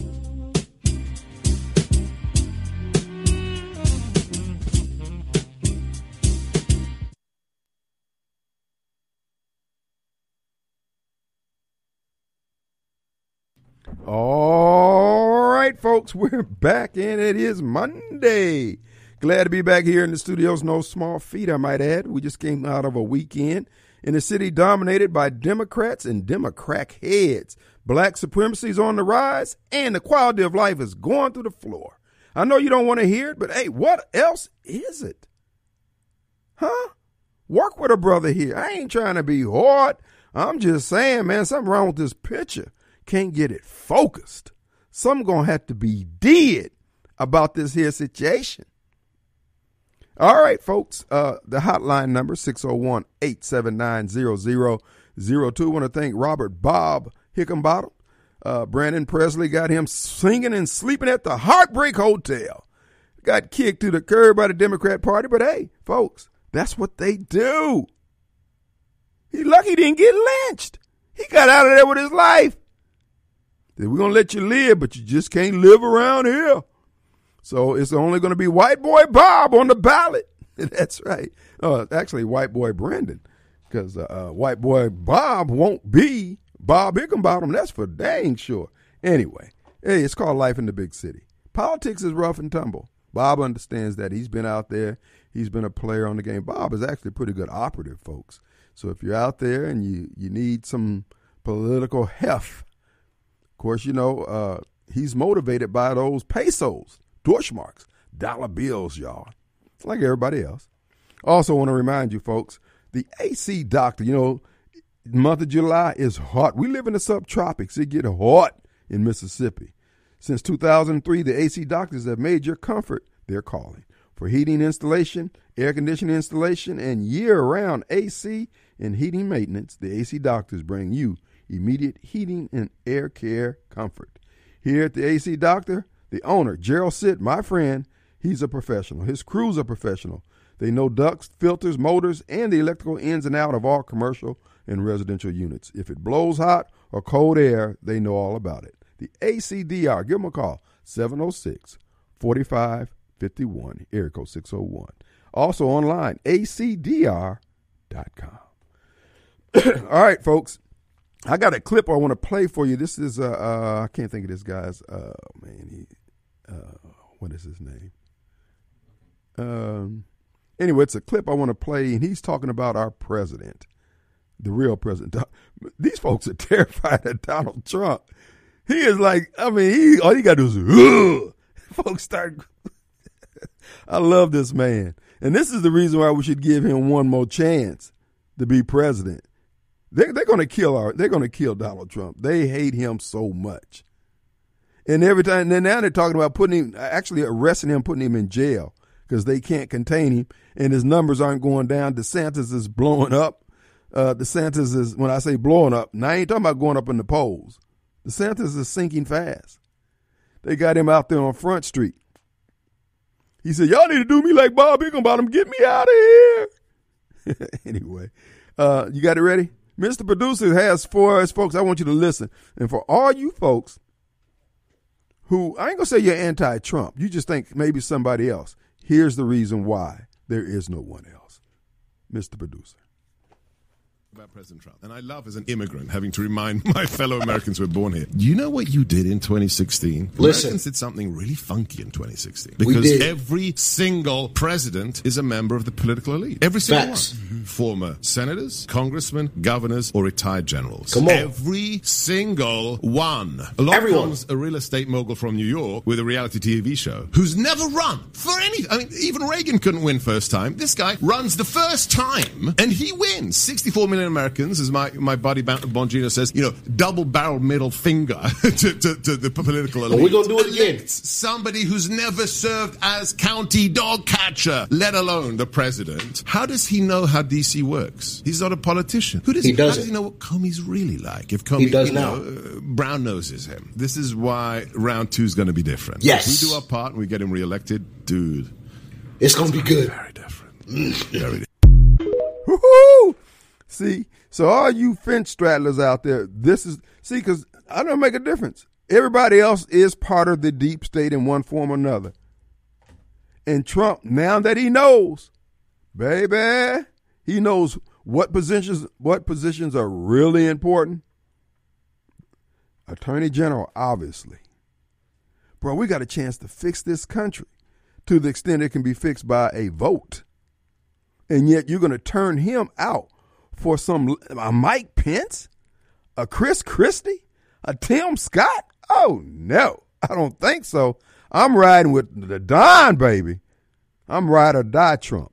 All right, folks, we're back, and it is Monday. Glad to be back here in the studios. No small feat, I might add. We just came out of a weekend in a city dominated by Democrats and Democrat heads. Black supremacy is on the rise, and the quality of life is going through the floor. I know you don't want to hear it, but hey, what else is it? Huh? Work with a brother here. I ain't trying to be hard. I'm just saying, man, something wrong with this picture. Can't get it focused. Some gonna have to be did about this here situation. All right, folks, the hotline number 601-879-0002. Want to thank Robert Bob Hickenbottom. Brandon Presley got him singing and sleeping at the Heartbreak Hotel. Got kicked to the curb by the Democrat Party, but hey, folks, that's what they do. He lucky he didn't get lynched. He got out of there with his life. We're going to let you live, but you just can't live around here. So it's only going to be white boy Bob on the ballot. That's right. Actually, white boy Brandon, because white boy Bob won't be Bob Hickenbottom. That's for dang sure. Anyway, hey, it's called life in the big city. Politics is rough and tumble. Bob understands that. He's been out there. He's been a player on the game. Bob is actually a pretty good operative, folks. So if you're out there and you need some political heft, of course, you know, he's motivated by those pesos, Deutschmarks, dollar bills, y'all, like everybody else. Also want to remind you, folks, the AC Doctor, you know, month of July is hot. We live in the subtropics. It get hot in Mississippi. Since 2003, the AC Doctors have made your comfort their calling. For heating installation, air conditioning installation, and year-round AC and heating maintenance, the AC Doctors bring you immediate heating and air care comfort. Here at the AC Doctor, the owner, Gerald Sitt, my friend, he's a professional. His crew's a professional. They know ducts, filters, motors, and the electrical ins and out of all commercial and residential units. If it blows hot or cold air, they know all about it. The ACDR, give them a call, 706-4551, area code 601. Also online, acdr.com. All right, folks. I got a clip I want to play for you. This is I can't think of this guy's what is his name? Anyway, it's a clip I want to play, and he's talking about our president, the real president. These folks are terrified of Donald Trump. He is like, I mean, all you got to do is, folks start. I love this man, and this is the reason why we should give him one more chance to be president. They're going to kill Donald Trump. They hate him so much. And every time, and now they're talking about actually arresting him, putting him in jail because they can't contain him and his numbers aren't going down. DeSantis is blowing up. DeSantis is, when I say blowing up, now I ain't talking about going up in the polls. DeSantis is sinking fast. They got him out there on Front Street. He said, y'all need to do me like Bob Hickenbottom. Get me out of here. Anyway, you got it ready? Mr. Producer has for us, folks, I want you to listen. And for all you folks who, I ain't going to say you're anti-Trump. You just think maybe somebody else. Here's the reason why there is no one else. Mr. Producer. about President Trump, and I love as an immigrant having to remind my fellow Americans who were born here. Do you know what you did in 2016? Listen. Americans did something really funky in 2016 because every single president is a member of the political elite. Every single Facts. one. Former senators, congressmen, governors, or retired generals. Come on. Every single one. Along comes a real estate mogul from New York with a reality TV show who's never run for anything. I mean, even Reagan couldn't win first time. This guy runs the first time and he wins. 64 million Americans, as my buddy Bongino says, double-barrel middle finger to the political elite. But we're going to do it again. Somebody who's never served as county dog catcher, let alone the president. How does he know how D.C. works? He's not a politician. How does he know what Comey's really like? If Comey, brown noses him. This is why round 2 is going to be different. Yes. If we do our part and we get him reelected, dude. It's going to be good. Very different. Very different. Woo-hoo! See, so all you fence straddlers out there, because I don't make a difference. Everybody else is part of the deep state in one form or another. And Trump, now that he knows, baby, he knows what positions are really important. Attorney General, obviously. Bro, we got a chance to fix this country to the extent it can be fixed by a vote. And yet you're going to turn him out for a Mike Pence, a Chris Christie, a Tim Scott? Oh, no, I don't think so. I'm riding with the Don, baby. I'm ride or die Trump.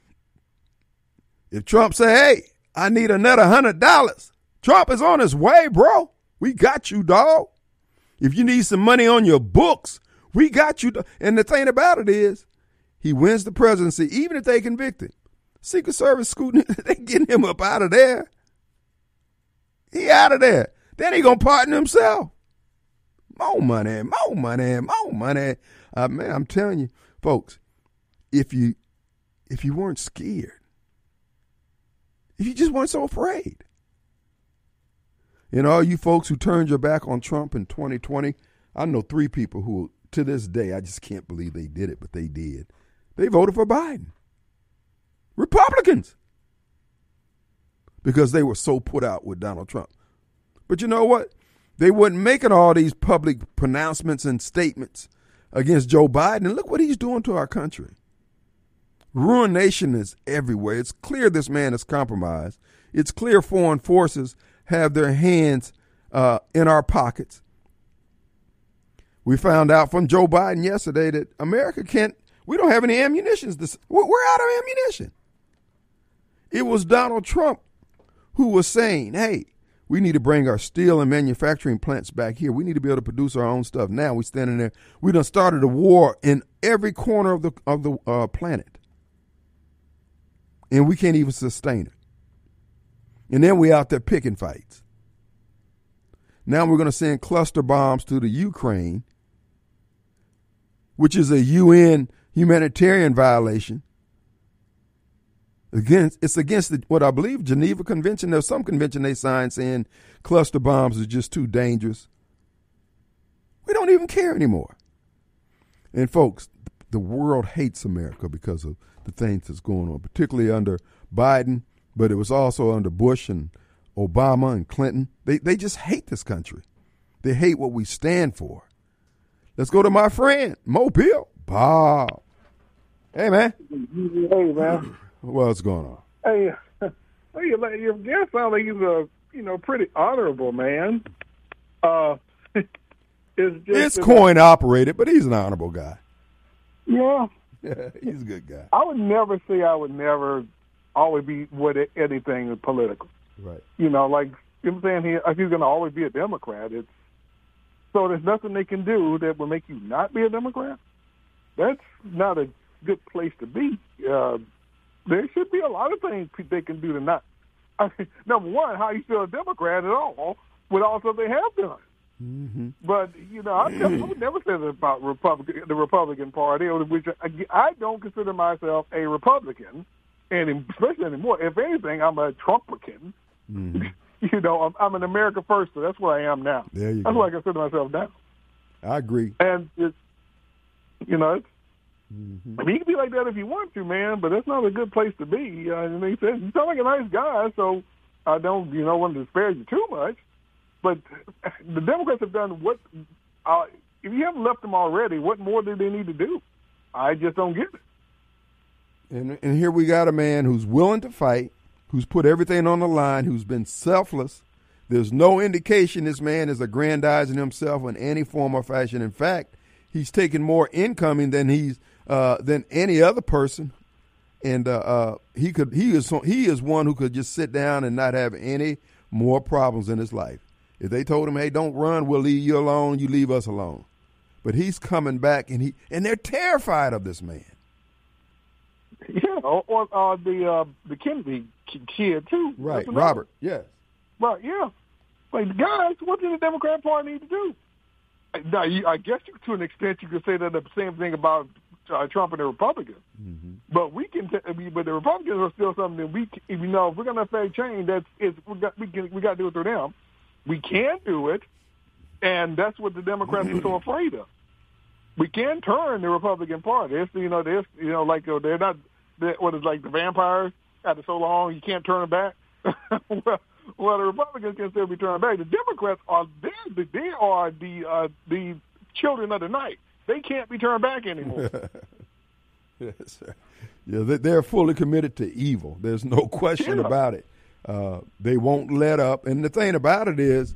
If Trump say, hey, I need another $100, Trump is on his way, bro. We got you, dog. If you need some money on your books, we got you. And the thing about it is, he wins the presidency, even if they convict him. Secret Service scooting, they getting him up out of there. He out of there. Then he gonna pardon himself. More money, more money, more money. Man, I'm telling you, folks, if you weren't scared, if you just weren't so afraid, all you folks who turned your back on Trump in 2020, I know 3 people who, to this day, I just can't believe they did it, but they did. They voted for Biden. Republicans. Because they were so put out with Donald Trump. But you know what? They wasn't making all these public pronouncements and statements against Joe Biden. And look what he's doing to our country. Ruination is everywhere. It's clear this man is compromised. It's clear foreign forces have their hands in our pockets. We found out from Joe Biden yesterday that America we don't have any ammunition. We're out of ammunition. It was Donald Trump who was saying, hey, we need to bring our steel and manufacturing plants back here. We need to be able to produce our own stuff. Now we're standing there. We done started a war in every corner of the planet. And we can't even sustain it. And then we out there picking fights. Now we're going to send cluster bombs to the Ukraine, which is a UN humanitarian violation. It's against what I believe Geneva Convention. There's some convention they signed saying cluster bombs are just too dangerous. We don't even care anymore. And folks, the world hates America because of the things that's going on, particularly under Biden, but it was also under Bush and Obama and Clinton. They just hate this country. They hate what we stand for. Let's go to my friend, Mobile Bob. Hey, man. Hey, man. What's going on? Hey, your guest sounds like he's a pretty honorable man. It's coin operated, but he's an honorable guy. Yeah. He's a good guy. I would never say I would never always be with anything political. Right. Like I'm saying here, he's going to always be a Democrat. So there's nothing they can do that will make you not be a Democrat. That's not a good place to be. There should be a lot of things they can do to not. Number one, how you still a Democrat at all with all stuff they have done. Mm-hmm. But I would never say that about the Republican Party, which I don't consider myself a Republican, and especially anymore. If anything, I'm a Trumpican. Mm-hmm. I'm an America first, so that's where I am now. There you that's go. where I consider myself now. I agree. And it's Mm-hmm. I mean, you can be like that if you want to, man, but that's not a good place to be. And they said, you sound like a nice guy, so I don't, want to disparage you too much, but the Democrats have done what, if you haven't left them already, what more do they need to do? I just don't get it. And here we got a man who's willing to fight, who's put everything on the line, who's been selfless. There's no indication this man is aggrandizing himself in any form or fashion. In fact, he's taking more incoming than than any other person, and he is one who could just sit down and not have any more problems in his life. If they told him, "Hey, don't run, we'll leave you alone," you leave us alone. But he's coming back, and they're terrified of this man. Yeah, or the Kennedy kid too. Right, Robert. Yes. Right. Yeah. Like, guys, what does the Democrat Party need to do? Now, I guess to an extent you could say that the same thing about Trump and the Republicans. Mm-hmm. But but the Republicans are still something that if we're going to affect change, we got to do it through them. We can do it, and that's what the Democrats are so afraid of. We can turn the Republican Party. They're not. What is like the vampires after so long you can't turn them back. Well, the Republicans can still be turned back. The Democrats are the children of the night. They can't be turned back anymore. Yes, sir. Yeah, they're fully committed to evil. There's no question about it. They won't let up. And the thing about it is,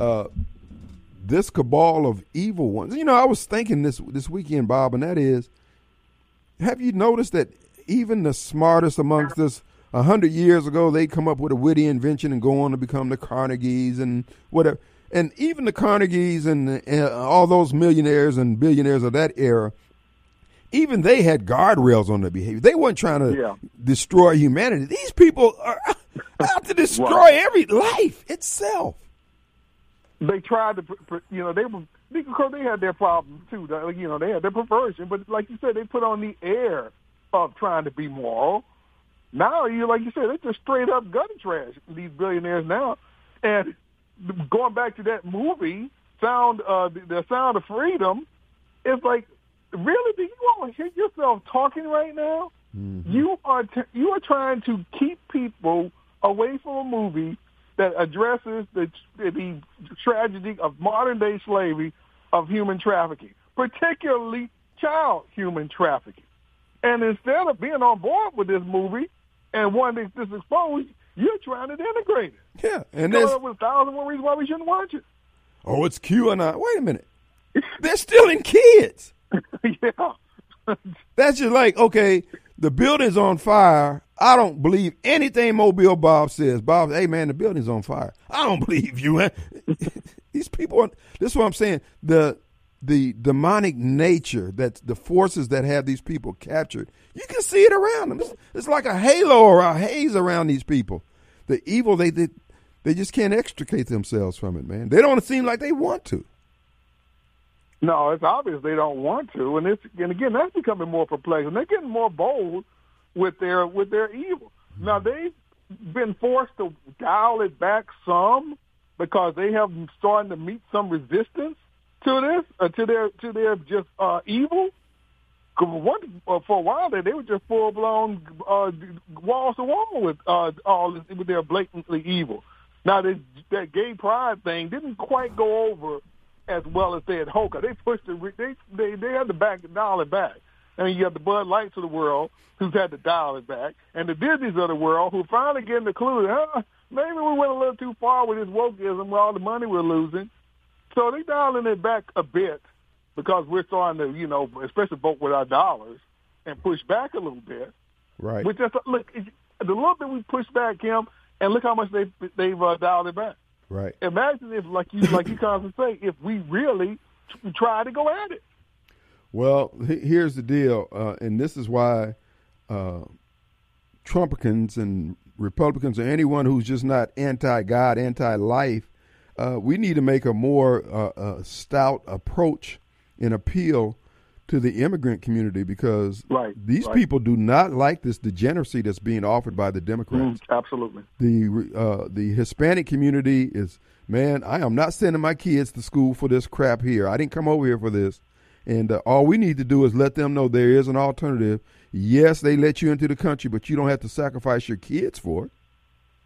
this cabal of evil ones. I was thinking this weekend, Bob, and that is, have you noticed that even the smartest amongst us, 100 years ago, they come up with a witty invention and go on to become the Carnegies and whatever. And even the Carnegies and all those millionaires and billionaires of that era, even they had guardrails on their behavior. They weren't trying to destroy humanity. These people are out to destroy every life itself. They tried to, because they had their problems too. They had their perversion, but like you said, they put on the air of trying to be moral. Now, like you said, they're just straight up gutter trash, these billionaires now. And going back to that movie, the Sound of Freedom, it's like, really, do you all hear yourself talking right now? Mm-hmm. You are trying to keep people away from a movie that addresses the tragedy of modern-day slavery, of human trafficking, particularly child human trafficking. And instead of being on board with this movie and wanting this exposed, you're trying to denigrate it. Yeah, and there's with 1,000 more reasons why we shouldn't watch it. Oh, it's QAnon. Wait a minute. They're stealing kids. Yeah. That's just like, okay, the building's on fire. I don't believe anything Mobile Bob says. Bob, hey, man, the building's on fire. I don't believe you. Man. These people, this is what I'm saying. The demonic nature, that the forces that have these people captured, you can see it around them. It's like a halo or a haze around these people. The evil, they just can't extricate themselves from it, man. They don't seem like they want to. No, it's obvious they don't want to, and again, that's becoming more perplexing. They're getting more bold with their evil. Now, they've been forced to dial it back some because they have starting to meet some resistance to this, to their just evil. For a while there, they were just full blown walls to wall with their blatantly evil. Now that gay pride thing didn't quite go over as well as they had hoped. They pushed it. They had to dial it back. And you have the Bud Lights of the world who's had to dial it back, and the Disneys of the world who finally getting the clue that maybe we went a little too far with this wokeism with all the money we're losing. So they're dialing it back a bit because we're starting to, especially vote with our dollars and push back a little bit. Right. Which just look, the little bit we pushed back, Kim, and look how much they've dialed it back. Right. Imagine if, like you constantly say, if we really try to go at it. Well, here's the deal, and this is why Trumpicans and Republicans or anyone who's just not anti-God, anti-life, we need to make a more stout approach and appeal to the immigrant community because these people do not like this degeneracy that's being offered by the Democrats. Absolutely. The Hispanic community is, man, I am not sending my kids to school for this crap here. I didn't come over here for this. And all we need to do is let them know there is an alternative. Yes, they let you into the country, but you don't have to sacrifice your kids for it.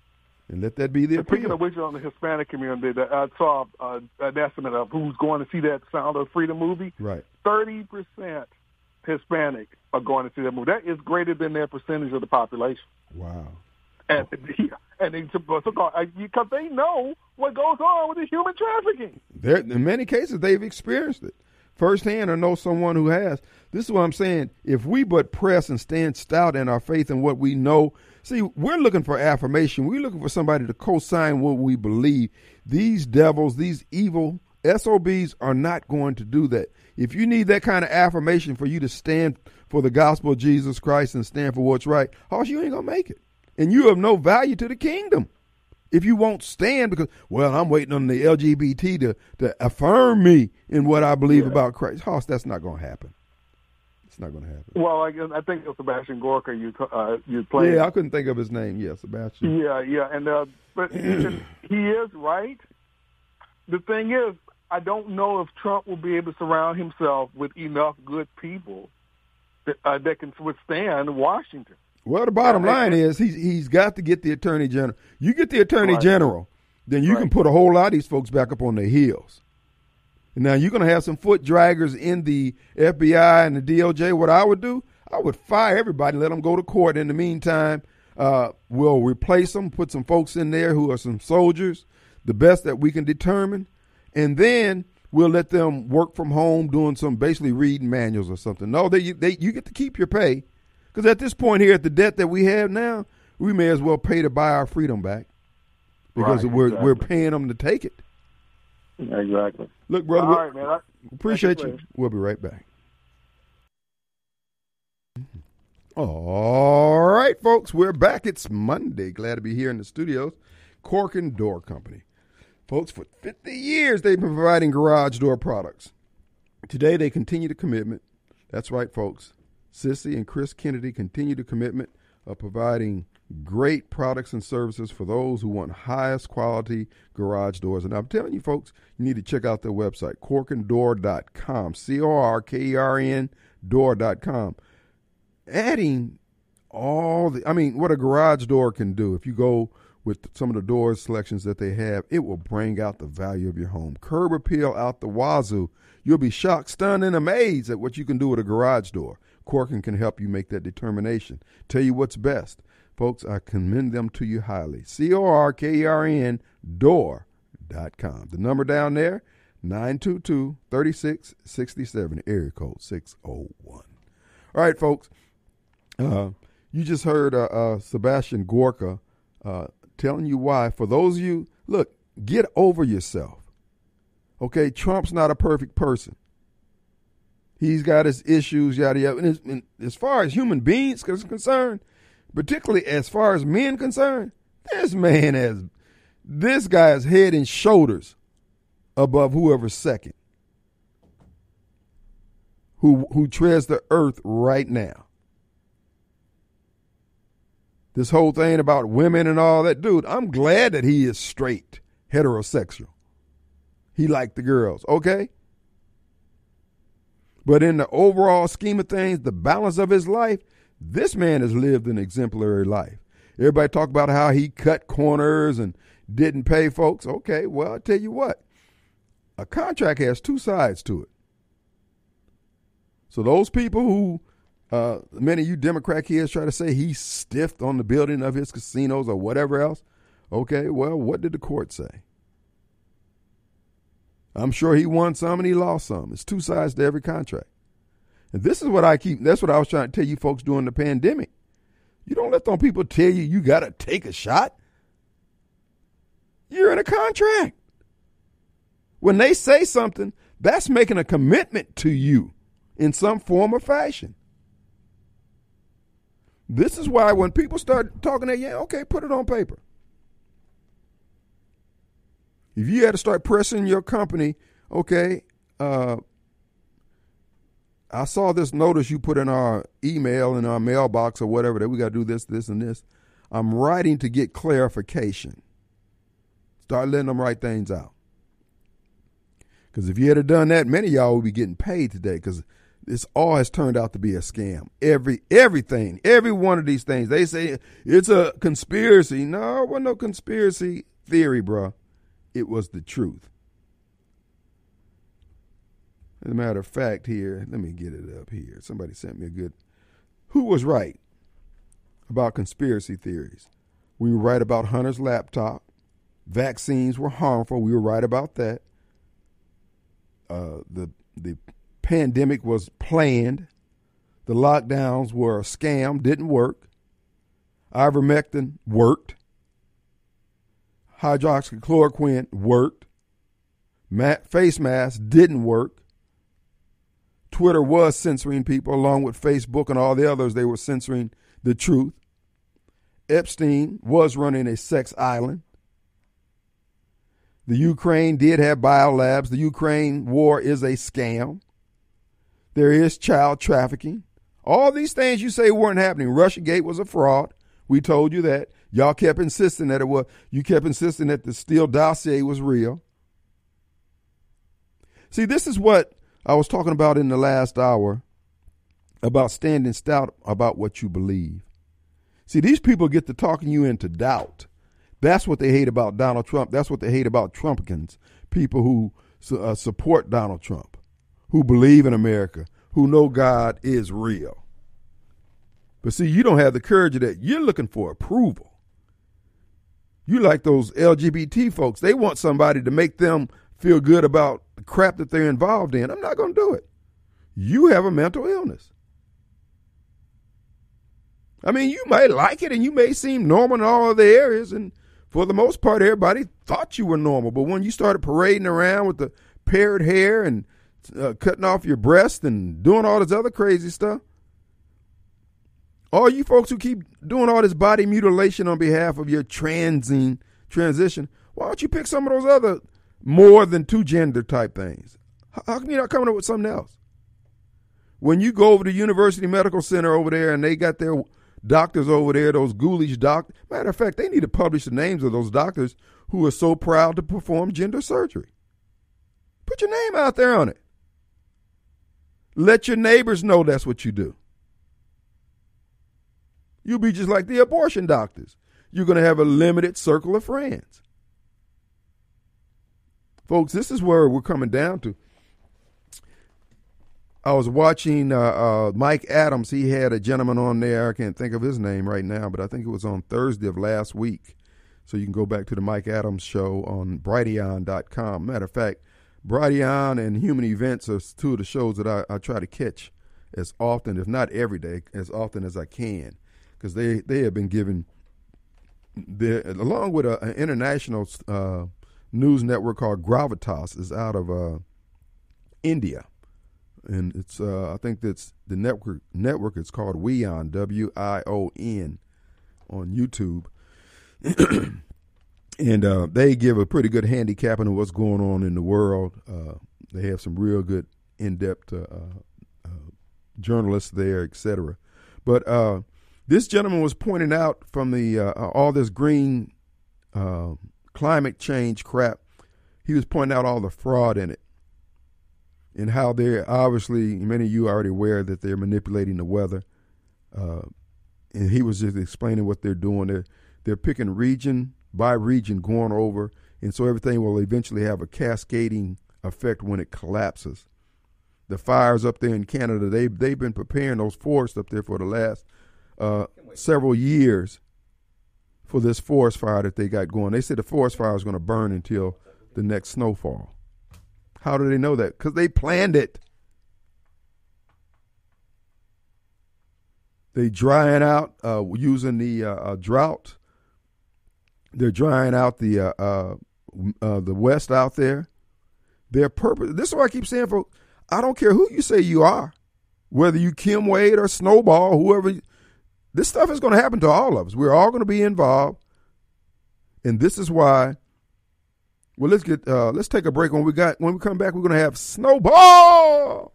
And let that be the Speaking appeal. of which, on the Hispanic community, I saw an estimate of who's going to see that Sound of Freedom movie. Right. 30% Hispanic are going to see that movie. That is greater than their percentage of the population. Wow. And because they know what goes on with the human trafficking. In many cases, they've experienced it firsthand or know someone who has. This is what I'm saying. If we but press and stand stout in our faith in what we know, see, we're looking for affirmation. We're looking for somebody to co-sign what we believe. These devils, these evil SOBs are not going to do that. If you need that kind of affirmation for you to stand for the gospel of Jesus Christ and stand for what's right, you ain't going to make it. And you have no value to the kingdom if you won't stand because, well, I'm waiting on the LGBT to affirm me in what I believe about Christ. That's not going to happen. It's not going to happen. Well, I think it was Sebastian Gorka you played. Yeah, I couldn't think of his name. Yeah, Sebastian. Yeah, and but he is right. The thing is, I don't know if Trump will be able to surround himself with enough good people that can withstand Washington. Well, the bottom line is he's got to get the attorney general. You get the attorney general, then you can put a whole lot of these folks back up on their heels. And now you're going to have some foot draggers in the FBI and the DOJ. What I would do, I would fire everybody and let them go to court. In the meantime, we'll replace them, put some folks in there who are some soldiers, the best that we can determine. And then we'll let them work from home doing some basically reading manuals or something. No, you get to keep your pay. Because at this point here, at the debt that we have now, we may as well pay to buy our freedom back because we're paying them to take it. Exactly. Look, brother, all right, man. Appreciate you. We'll be right back. All right, folks, we're back. It's Monday. Glad to be here in the studios. Corken Door Company. Folks, for 50 years, they've been providing garage door products. Today, they continue the commitment. That's right, folks. Sissy and Chris Kennedy continue the commitment of providing great products and services for those who want highest quality garage doors. And I'm telling you, folks, you need to check out their website, corkendoor.com, CORKERN door.com. Adding what a garage door can do. If you go with some of the door selections that they have, it will bring out the value of your home. Curb appeal out the wazoo. You'll be shocked, stunned, and amazed at what you can do with a garage door. Corken can help you make that determination. Tell you what's best. Folks, I commend them to you highly. CORKERN door.com. The number down there, 922-3667, area code 601. All right, folks. You just heard Sebastian Gorka telling you why. For those of you, look, get over yourself. Okay, Trump's not a perfect person. He's got his issues, yada, yada. And as far as human beings is concerned, particularly as far as men concerned, this guy is head and shoulders above whoever's second, who treads the earth right now. This whole thing about women and all that, dude, I'm glad that he is straight, heterosexual. He liked the girls, okay? But in the overall scheme of things, the balance of his life, this man has lived an exemplary life. Everybody talk about how he cut corners and didn't pay folks. Okay, well, I'll tell you what. A contract has two sides to it. So those people who, many of you Democrat kids try to say he stiffed on the building of his casinos or whatever else. Okay, well, what did the court say? I'm sure he won some and he lost some. It's two sides to every contract. And this is what that's what I was trying to tell you folks during the pandemic. You don't let them people tell you got to take a shot. You're in a contract. When they say something, that's making a commitment to you in some form or fashion. This is why when people start talking that, okay, put it on paper. If you had to start pressing your company, okay, I saw this notice you put in our email, in our mailbox or whatever, that we got to do this, this, and this. I'm writing to get clarification. Start letting them write things out. Because if you had done that, many of y'all would be getting paid today. Because This all has turned out to be a scam. Everything, every one of these things. They say it's a conspiracy. No, it wasn't no conspiracy theory, bro. It was the truth. As a matter of fact, here, let me get it up here. Somebody sent me a good. Who was right about conspiracy theories? We were right about Hunter's laptop. Vaccines were harmful. We were right about that. The pandemic was planned. The lockdowns were a scam, didn't work. Ivermectin worked. Hydroxychloroquine worked. Face masks didn't work. Twitter was censoring people along with Facebook and all the others. They were censoring the truth. Epstein was running a sex island. The Ukraine did have biolabs. The Ukraine war is a scam. There is child trafficking. All these things you say weren't happening. Russiagate was a fraud. We told you that. Y'all kept insisting that it was. You kept insisting that the Steele dossier was real. See, this is what I was talking about in the last hour about standing stout about what you believe. See, these people get to talking you into doubt. That's what they hate about Donald Trump. That's what they hate about Trumpkins, people who support Donald Trump, who believe in America, who know God is real. But see, you don't have the courage of that. You're looking for approval. You like those LGBT folks. They want somebody to make them feel good about the crap that they're involved in. I'm not going to do it. You have a mental illness. I mean, you might like it and you may seem normal in all other areas, and for the most part, everybody thought you were normal. But when you started parading around with the parrot hair and cutting off your breast and doing all this other crazy stuff, all you folks who keep doing all this body mutilation on behalf of your transition, why don't you pick some of those other more than two gender type things? How come you're not coming up with something else? When you go over to University Medical Center over there and they got their doctors over there, those ghoulish doctors. Matter of fact, they need to publish the names of those doctors who are so proud to perform gender surgery. Put your name out there on it. Let your neighbors know that's what you do. You'll be just like the abortion doctors. You're going to have a limited circle of friends. Folks, this is where we're coming down to. I was watching Mike Adams. He had a gentleman on there. I can't think of his name right now, but I think it was on Thursday of last week. So you can go back to the Mike Adams show on Brighteon.com. Matter of fact, Brighteon and Human Events are two of the shows that I try to catch as often, if not every day, as often as I can, because they have been given, along with an international news network called Gravitas, is out of India. And it's I think that's the network is called WION, WION, on YouTube. And they give a pretty good handicapping of what's going on in the world. They have some real good in-depth journalists there, etc. But this gentleman was pointing out from the all this green climate change crap, he was pointing out all the fraud in it. And how they're obviously, many of you are already aware that they're manipulating the weather. And he was just explaining what they're doing. They're picking region by region, going over, and so everything will eventually have a cascading effect when it collapses. The fires up there in Canada, they've been preparing those forests up there for the last several years for this forest fire that they got going. They said the forest fire is going to burn until the next snowfall. How do they know that? Because they planned it. They drying out using the drought. They're drying out the West out there. Their purpose. This is what I keep saying, folks. I don't care who you say you are, whether you Kim Wade or Snowball, whoever. This stuff is going to happen to all of us. We're all going to be involved, and this is why. Well, let's take a break. When we come back, we're going to have Snowball.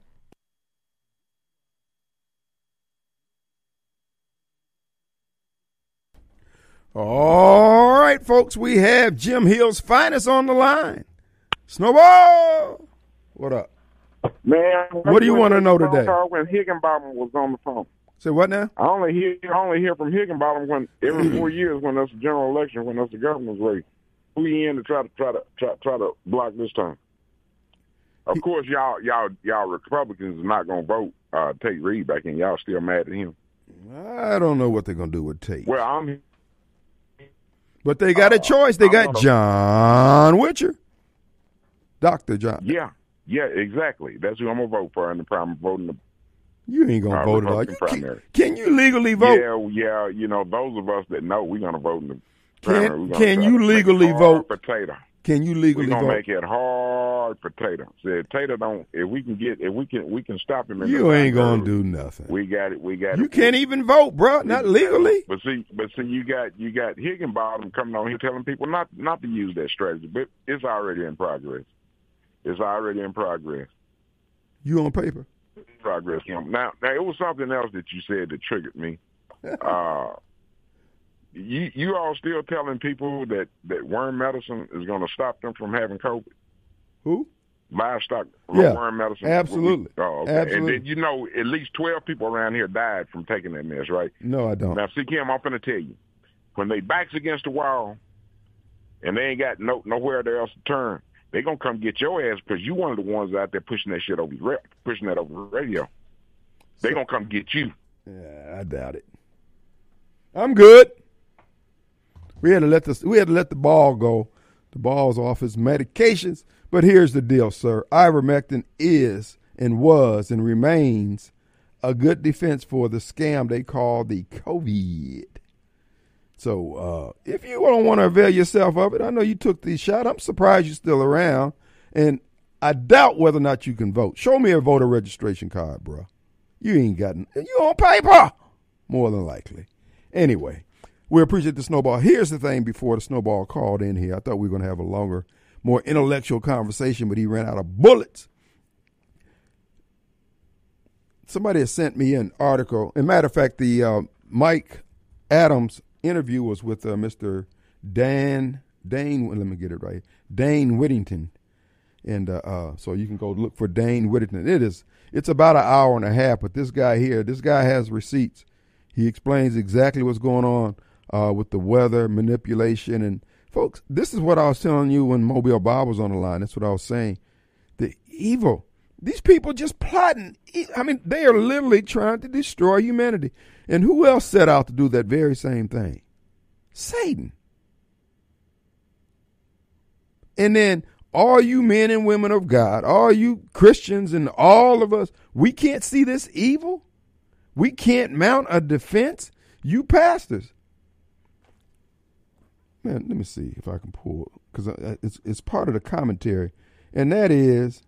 All right, folks, we have Jim Hill's finest on the line. Snowball, what up? Man, What do you want to know today? When Higginbottom was on the phone. Say what now? I only hear from Higginbottom when every 4 years when there's a general election, when there's a governor's race. Who he in to try to block this time? Of course, y'all Republicans are not gonna vote Tate Reed back in. Y'all still mad at him. I don't know what they're gonna do with Tate. Well, but they got a choice. They got John Witcher, Dr. John. Yeah, exactly. That's who I'm gonna vote for in the primary voting. You ain't gonna vote at all. Can you legally vote? Yeah. You know, those of us that know, we're gonna vote in the primary. Can you legally vote? Potato. Can you legally vote? We're gonna make it hard for Tater. Said Tater don't. If we can stop him. You ain't gonna do nothing. We got it. You can't even vote, bro. Not legally. But see, you got Higginbottom coming on here telling people not to use that strategy. But it's already in progress. You on paper? Progress. Now it was something else that you said that triggered me. You all still telling people that worm medicine is going to stop them from having COVID? Who? Livestock worm medicine? Absolutely. Oh, okay. Absolutely. And then, at least 12 people around here died from taking that mess, right? No, I don't. Now, see, Kim, I'm going to tell you. When they backs against the wall and they ain't got nowhere else to turn, they going to come get your ass because you one of the ones out there pushing that shit over the radio. They going to come get you. Yeah, I doubt it. I'm good. We had to let the ball go. The ball's off his medications. But here's the deal, sir. Ivermectin is and was and remains a good defense for the scam they call the COVID. So if you don't want to avail yourself of it, I know you took the shot. I'm surprised you're still around. And I doubt whether or not you can vote. Show me a voter registration card, bro. You ain't got you on paper. More than likely. Anyway. We appreciate the Snowball. Here's the thing before the Snowball called in here. I thought we were going to have a longer, more intellectual conversation, but he ran out of bullets. Somebody has sent me an article. As a matter of fact, the Mike Adams interview was with Mr. Dane, let me get it right, Dane Whittington. And so you can go look for Dane Whittington. It's about an hour and a half, but this guy has receipts. He explains exactly what's going on. With the weather manipulation. And folks, this is what I was telling you when Mobile Bob was on the line. That's what I was saying. The evil. These people just plotting. I mean, they are literally trying to destroy humanity. And who else set out to do that very same thing? Satan. And then all you men and women of God, all you Christians and all of us, we can't see this evil. We can't mount a defense. You pastors. Man, let me see if I can pull, because it's part of the commentary, and that is,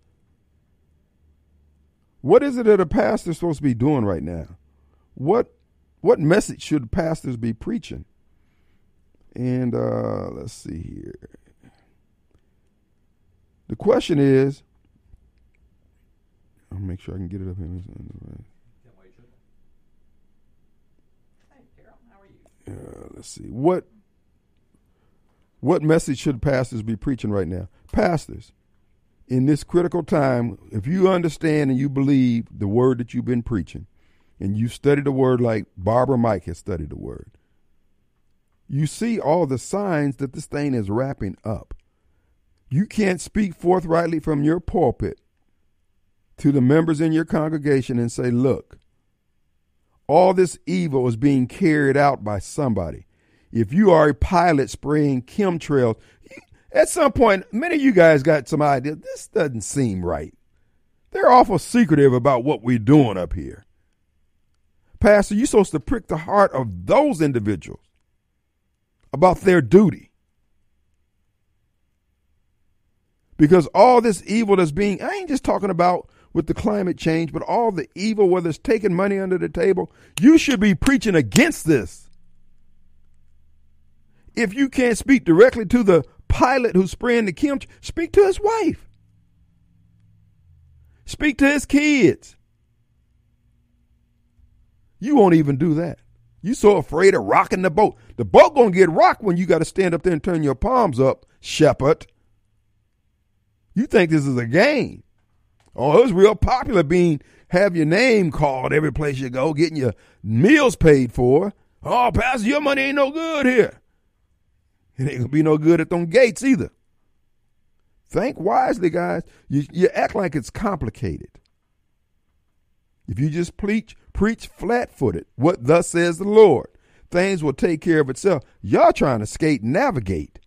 what is it that a pastor is supposed to be doing right now? What message should pastors be preaching? And let's see here. The question is, I'll make sure I can get it up here. Let's see. What message should pastors be preaching right now? Pastors, in this critical time, if you understand and you believe the word that you've been preaching, and you study the word like Barbara Mike has studied the word, you see all the signs that this thing is wrapping up. You can't speak forthrightly from your pulpit to the members in your congregation and say, look, all this evil is being carried out by somebody. If you are a pilot spraying chemtrails, at some point, many of you guys got some idea. This doesn't seem right. They're awful secretive about what we're doing up here. Pastor, you're supposed to prick the heart of those individuals about their duty. Because all this evil that's being, I ain't just talking about with the climate change, but all the evil, whether it's taking money under the table, you should be preaching against this. If you can't speak directly to the pilot who's spraying the chemtrails, speak to his wife. Speak to his kids. You won't even do that. You so afraid of rocking the boat. The boat gonna get rocked when you got to stand up there and turn your palms up, shepherd. You think this is a game. Oh, it was real popular have your name called every place you go, getting your meals paid for. Oh, Pastor, your money ain't no good here. It ain't gonna be no good at them gates either. Think wisely, guys. You act like it's complicated. If you just preach flat-footed, what thus says the Lord, things will take care of itself. Y'all trying to skate and navigate.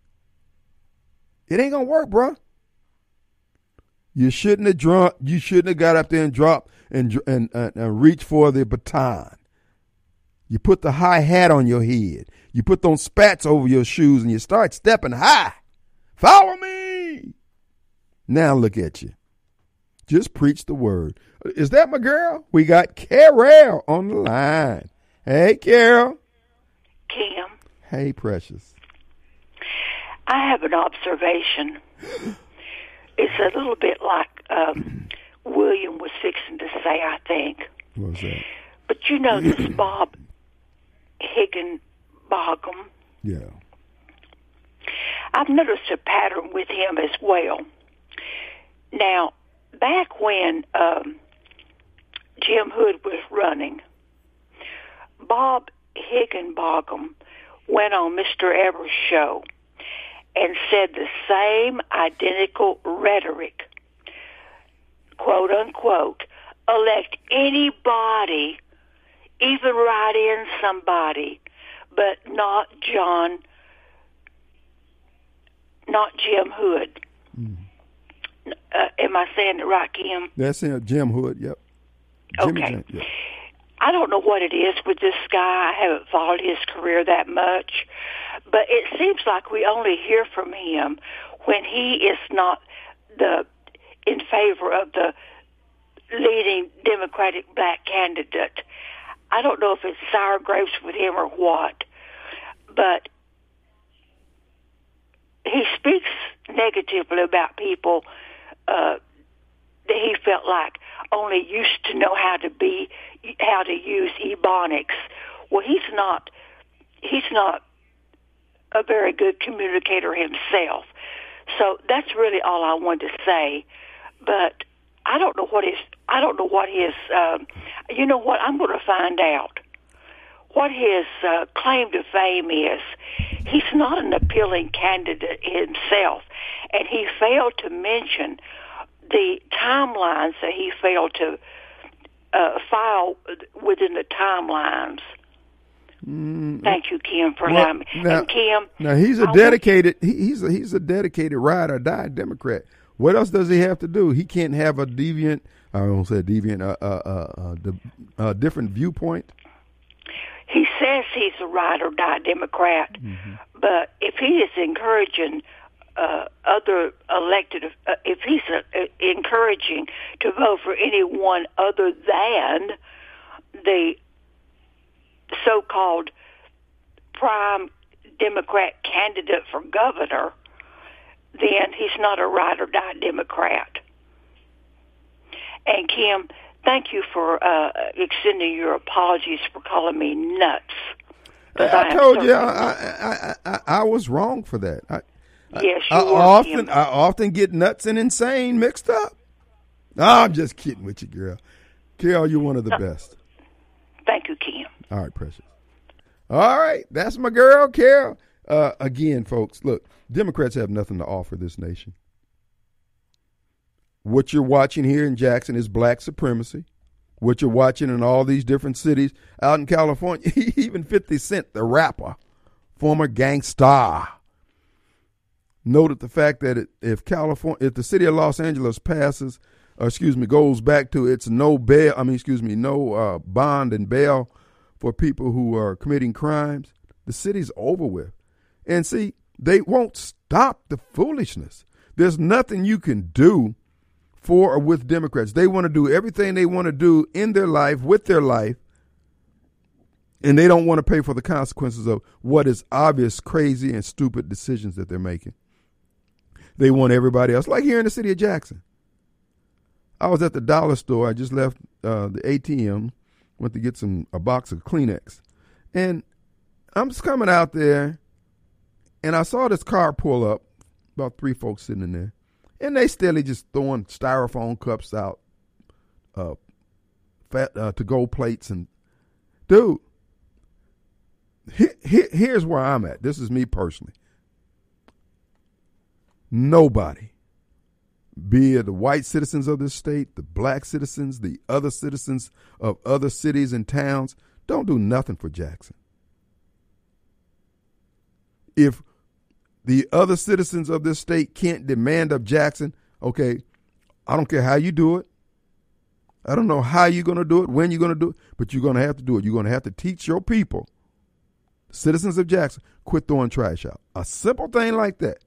It ain't gonna work, bro. You shouldn't have got up there and dropped and reached for the baton. You put the high hat on your head. You put those spats over your shoes and you start stepping high. Follow me. Now look at you. Just preach the word. Is that my girl? We got Carol on the line. Hey, Carol. Kim. Hey, precious. I have an observation. It's a little bit like William was fixing to say, I think. What was that? But you know this Bob Higginbotham? Yeah. I've noticed a pattern with him as well. Now, back when Jim Hood was running, Bob Higginbotham went on Mr. Evers' show and said the same identical rhetoric, quote unquote, elect anybody, even write in somebody, but not Jim Hood. Mm. Am I saying it right, Kim? That's him, Jim Hood, yep. Okay. Jim, yep. I don't know what it is with this guy. I haven't followed his career that much. But it seems like we only hear from him when he is not in favor of the leading Democratic black candidate. I don't know if it's sour grapes with him or what, but he speaks negatively about people that he felt like only used to know how to use Ebonics. Well, he's not a very good communicator himself. So that's really all I wanted to say. But I don't know what his you know what, I'm going to find out what his claim to fame is. He's not an appealing candidate himself, and he failed to mention the timelines that he failed to file within the timelines. Thank you, Kim, for allowing me. And Kim, now he's a dedicated he's a dedicated ride or die Democrat. What else does he have to do? He can't have a deviant. I don't say deviant. Different viewpoint. He says he's a ride or die Democrat, but if he is encouraging other elected, if he's encouraging to vote for anyone other than the so-called prime Democrat candidate for governor, then he's not a ride or die Democrat. And Kim, thank you for extending your apologies for calling me nuts. I told you I was wrong for that. Yes, you were, Kim. I often get nuts and insane mixed up. I'm just kidding with you, girl. Carol, you're one of the best. Thank you, Kim. All right, precious. All right, that's my girl, Carol. Again, folks, look, Democrats have nothing to offer this nation. What you're watching here in Jackson is black supremacy. What you're watching in all these different cities out in California, even 50 Cent, the rapper, former gangsta, noted the fact that if the city of Los Angeles goes back to its no bond and bail for people who are committing crimes, the city's over with. And see, they won't stop the foolishness. There's nothing you can do for or with Democrats. They want to do everything they want to do in their life, with their life, and they don't want to pay for the consequences of what is obvious, crazy, and stupid decisions that they're making. They want everybody else, like here in the city of Jackson. I was at the dollar store. I just left the ATM, went to get a box of Kleenex. And I'm just coming out there, and I saw this car pull up, about 3 folks sitting in there. And they steadily just throwing styrofoam cups out, to-go plates. And, dude, here's where I'm at. This is me personally. Nobody, be it the white citizens of this state, the black citizens, the other citizens of other cities and towns, don't do nothing for Jackson. If the other citizens of this state can't demand of Jackson, okay, I don't care how you do it. I don't know how you're going to do it, when you're going to do it, but you're going to have to do it. You're going to have to teach your people, citizens of Jackson, quit throwing trash out. A simple thing like that.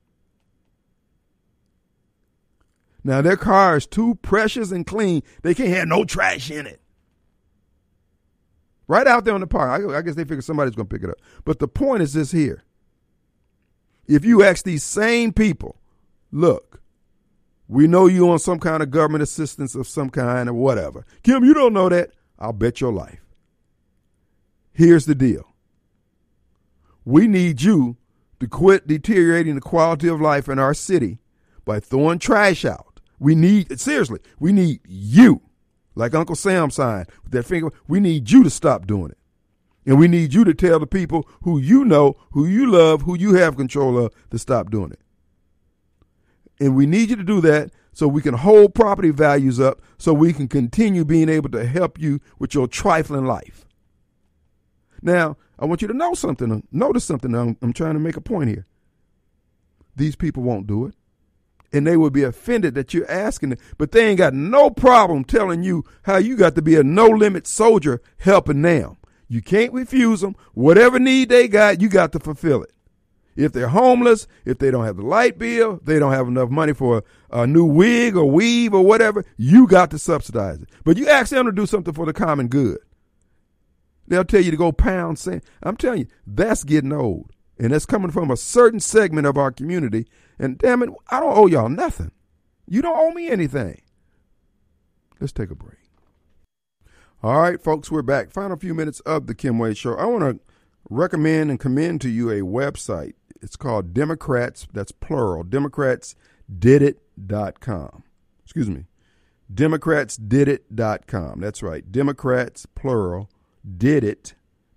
Now, their car is too precious and clean. They can't have no trash in it. Right out there on the park. I guess they figure somebody's going to pick it up. But the point is this here. If you ask these same people, look, we know you on some kind of government assistance of some kind or whatever. Kim, you don't know that. I'll bet your life. Here's the deal. We need you to quit deteriorating the quality of life in our city by throwing trash out. We need you, like Uncle Sam signed with that finger. We need you to stop doing it. And we need you to tell the people who you know, who you love, who you have control of, to stop doing it. And we need you to do that so we can hold property values up, so we can continue being able to help you with your trifling life. Now, I want you to know something. Notice something. I'm trying to make a point here. These people won't do it. And they will be offended that you're asking it, but they ain't got no problem telling you how you got to be a no-limit soldier helping them. You can't refuse them. Whatever need they got, you got to fulfill it. If they're homeless, if they don't have the light bill, they don't have enough money for a new wig or weave or whatever, you got to subsidize it. But you ask them to do something for the common good. They'll tell you to go pound sand. I'm telling you, that's getting old. And that's coming from a certain segment of our community. And damn it, I don't owe y'all nothing. You don't owe me anything. Let's take a break. All right, folks, we're back. Final few minutes of the Kim Wade Show. I want to recommend and commend to you a website. It's called Democrats, that's plural, DemocratsDidIt.com. Excuse me, DemocratsDidIt.com. That's right, Democrats, plural, didit,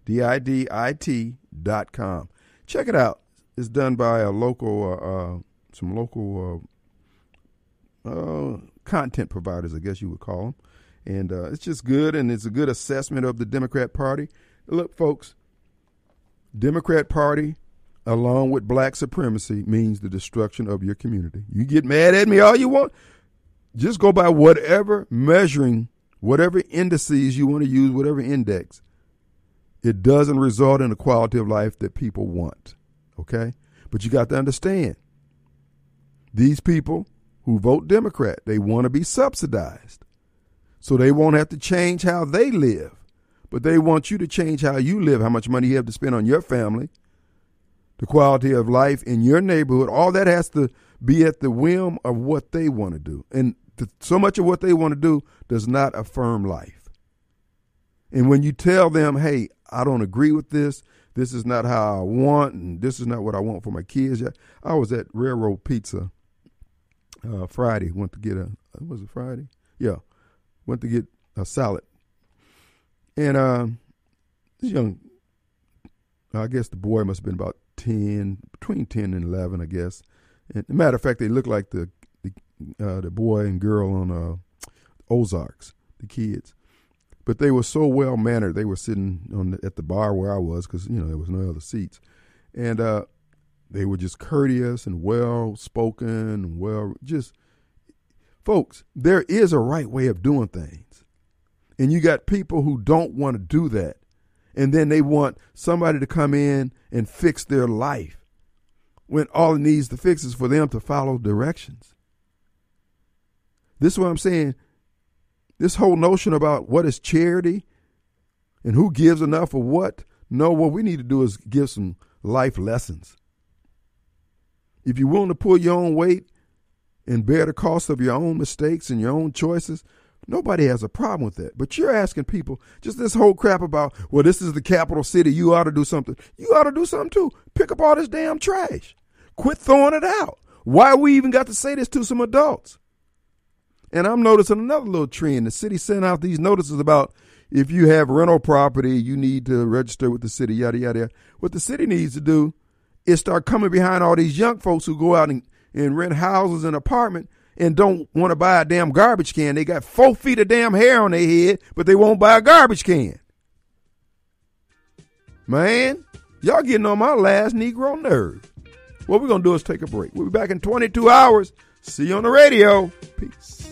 DIDIT.com. Check it out. It's done by a local, some local content providers, I guess you would call them. And it's just good, and it's a good assessment of the Democrat Party. Look, folks, Democrat Party, along with black supremacy, means the destruction of your community. You get mad at me all you want. Just go by whatever measuring, whatever indices you want to use, whatever index. It doesn't result in the quality of life that people want, okay? But you got to understand, these people who vote Democrat, they want to be subsidized. So they won't have to change how they live, but they want you to change how you live, how much money you have to spend on your family, the quality of life in your neighborhood. All that has to be at the whim of what they want to do. And so much of what they want to do does not affirm life. And when you tell them, hey, I don't agree with this, this is not how I want, and this is not what I want for my kids. I was at Railroad Pizza Friday, went to get was it Friday? Yeah. Went to get a salad. And this young, I guess the boy must have been about 10, between 10 and 11, I guess. And as a matter of fact, they look like the boy and girl on Ozarks, the kids. But they were so well-mannered. They were sitting at the bar where I was because, there was no other seats. And they were just courteous and well-spoken and folks, there is a right way of doing things. And you got people who don't want to do that. And then they want somebody to come in and fix their life when all it needs to fix is for them to follow directions. This is what I'm saying. This whole notion about what is charity and who gives enough of what. No, what we need to do is give some life lessons. If you're willing to pull your own weight and bear the cost of your own mistakes and your own choices, nobody has a problem with that. But you're asking people just this whole crap about, well, this is the capital city, you ought to do something. You ought to do something too. Pick up all this damn trash. Quit throwing it out. Why we even got to say this to some adults? And I'm noticing another little trend. The city sent out these notices about if you have rental property, you need to register with the city, yada, yada, yada. What the city needs to do is start coming behind all these young folks who go out and rent houses and apartments and don't want to buy a damn garbage can. They got 4 feet of damn hair on their head, but they won't buy a garbage can. Man, y'all getting on my last Negro nerve. What we're going to do is take a break. We'll be back in 22 hours. See you on the radio. Peace.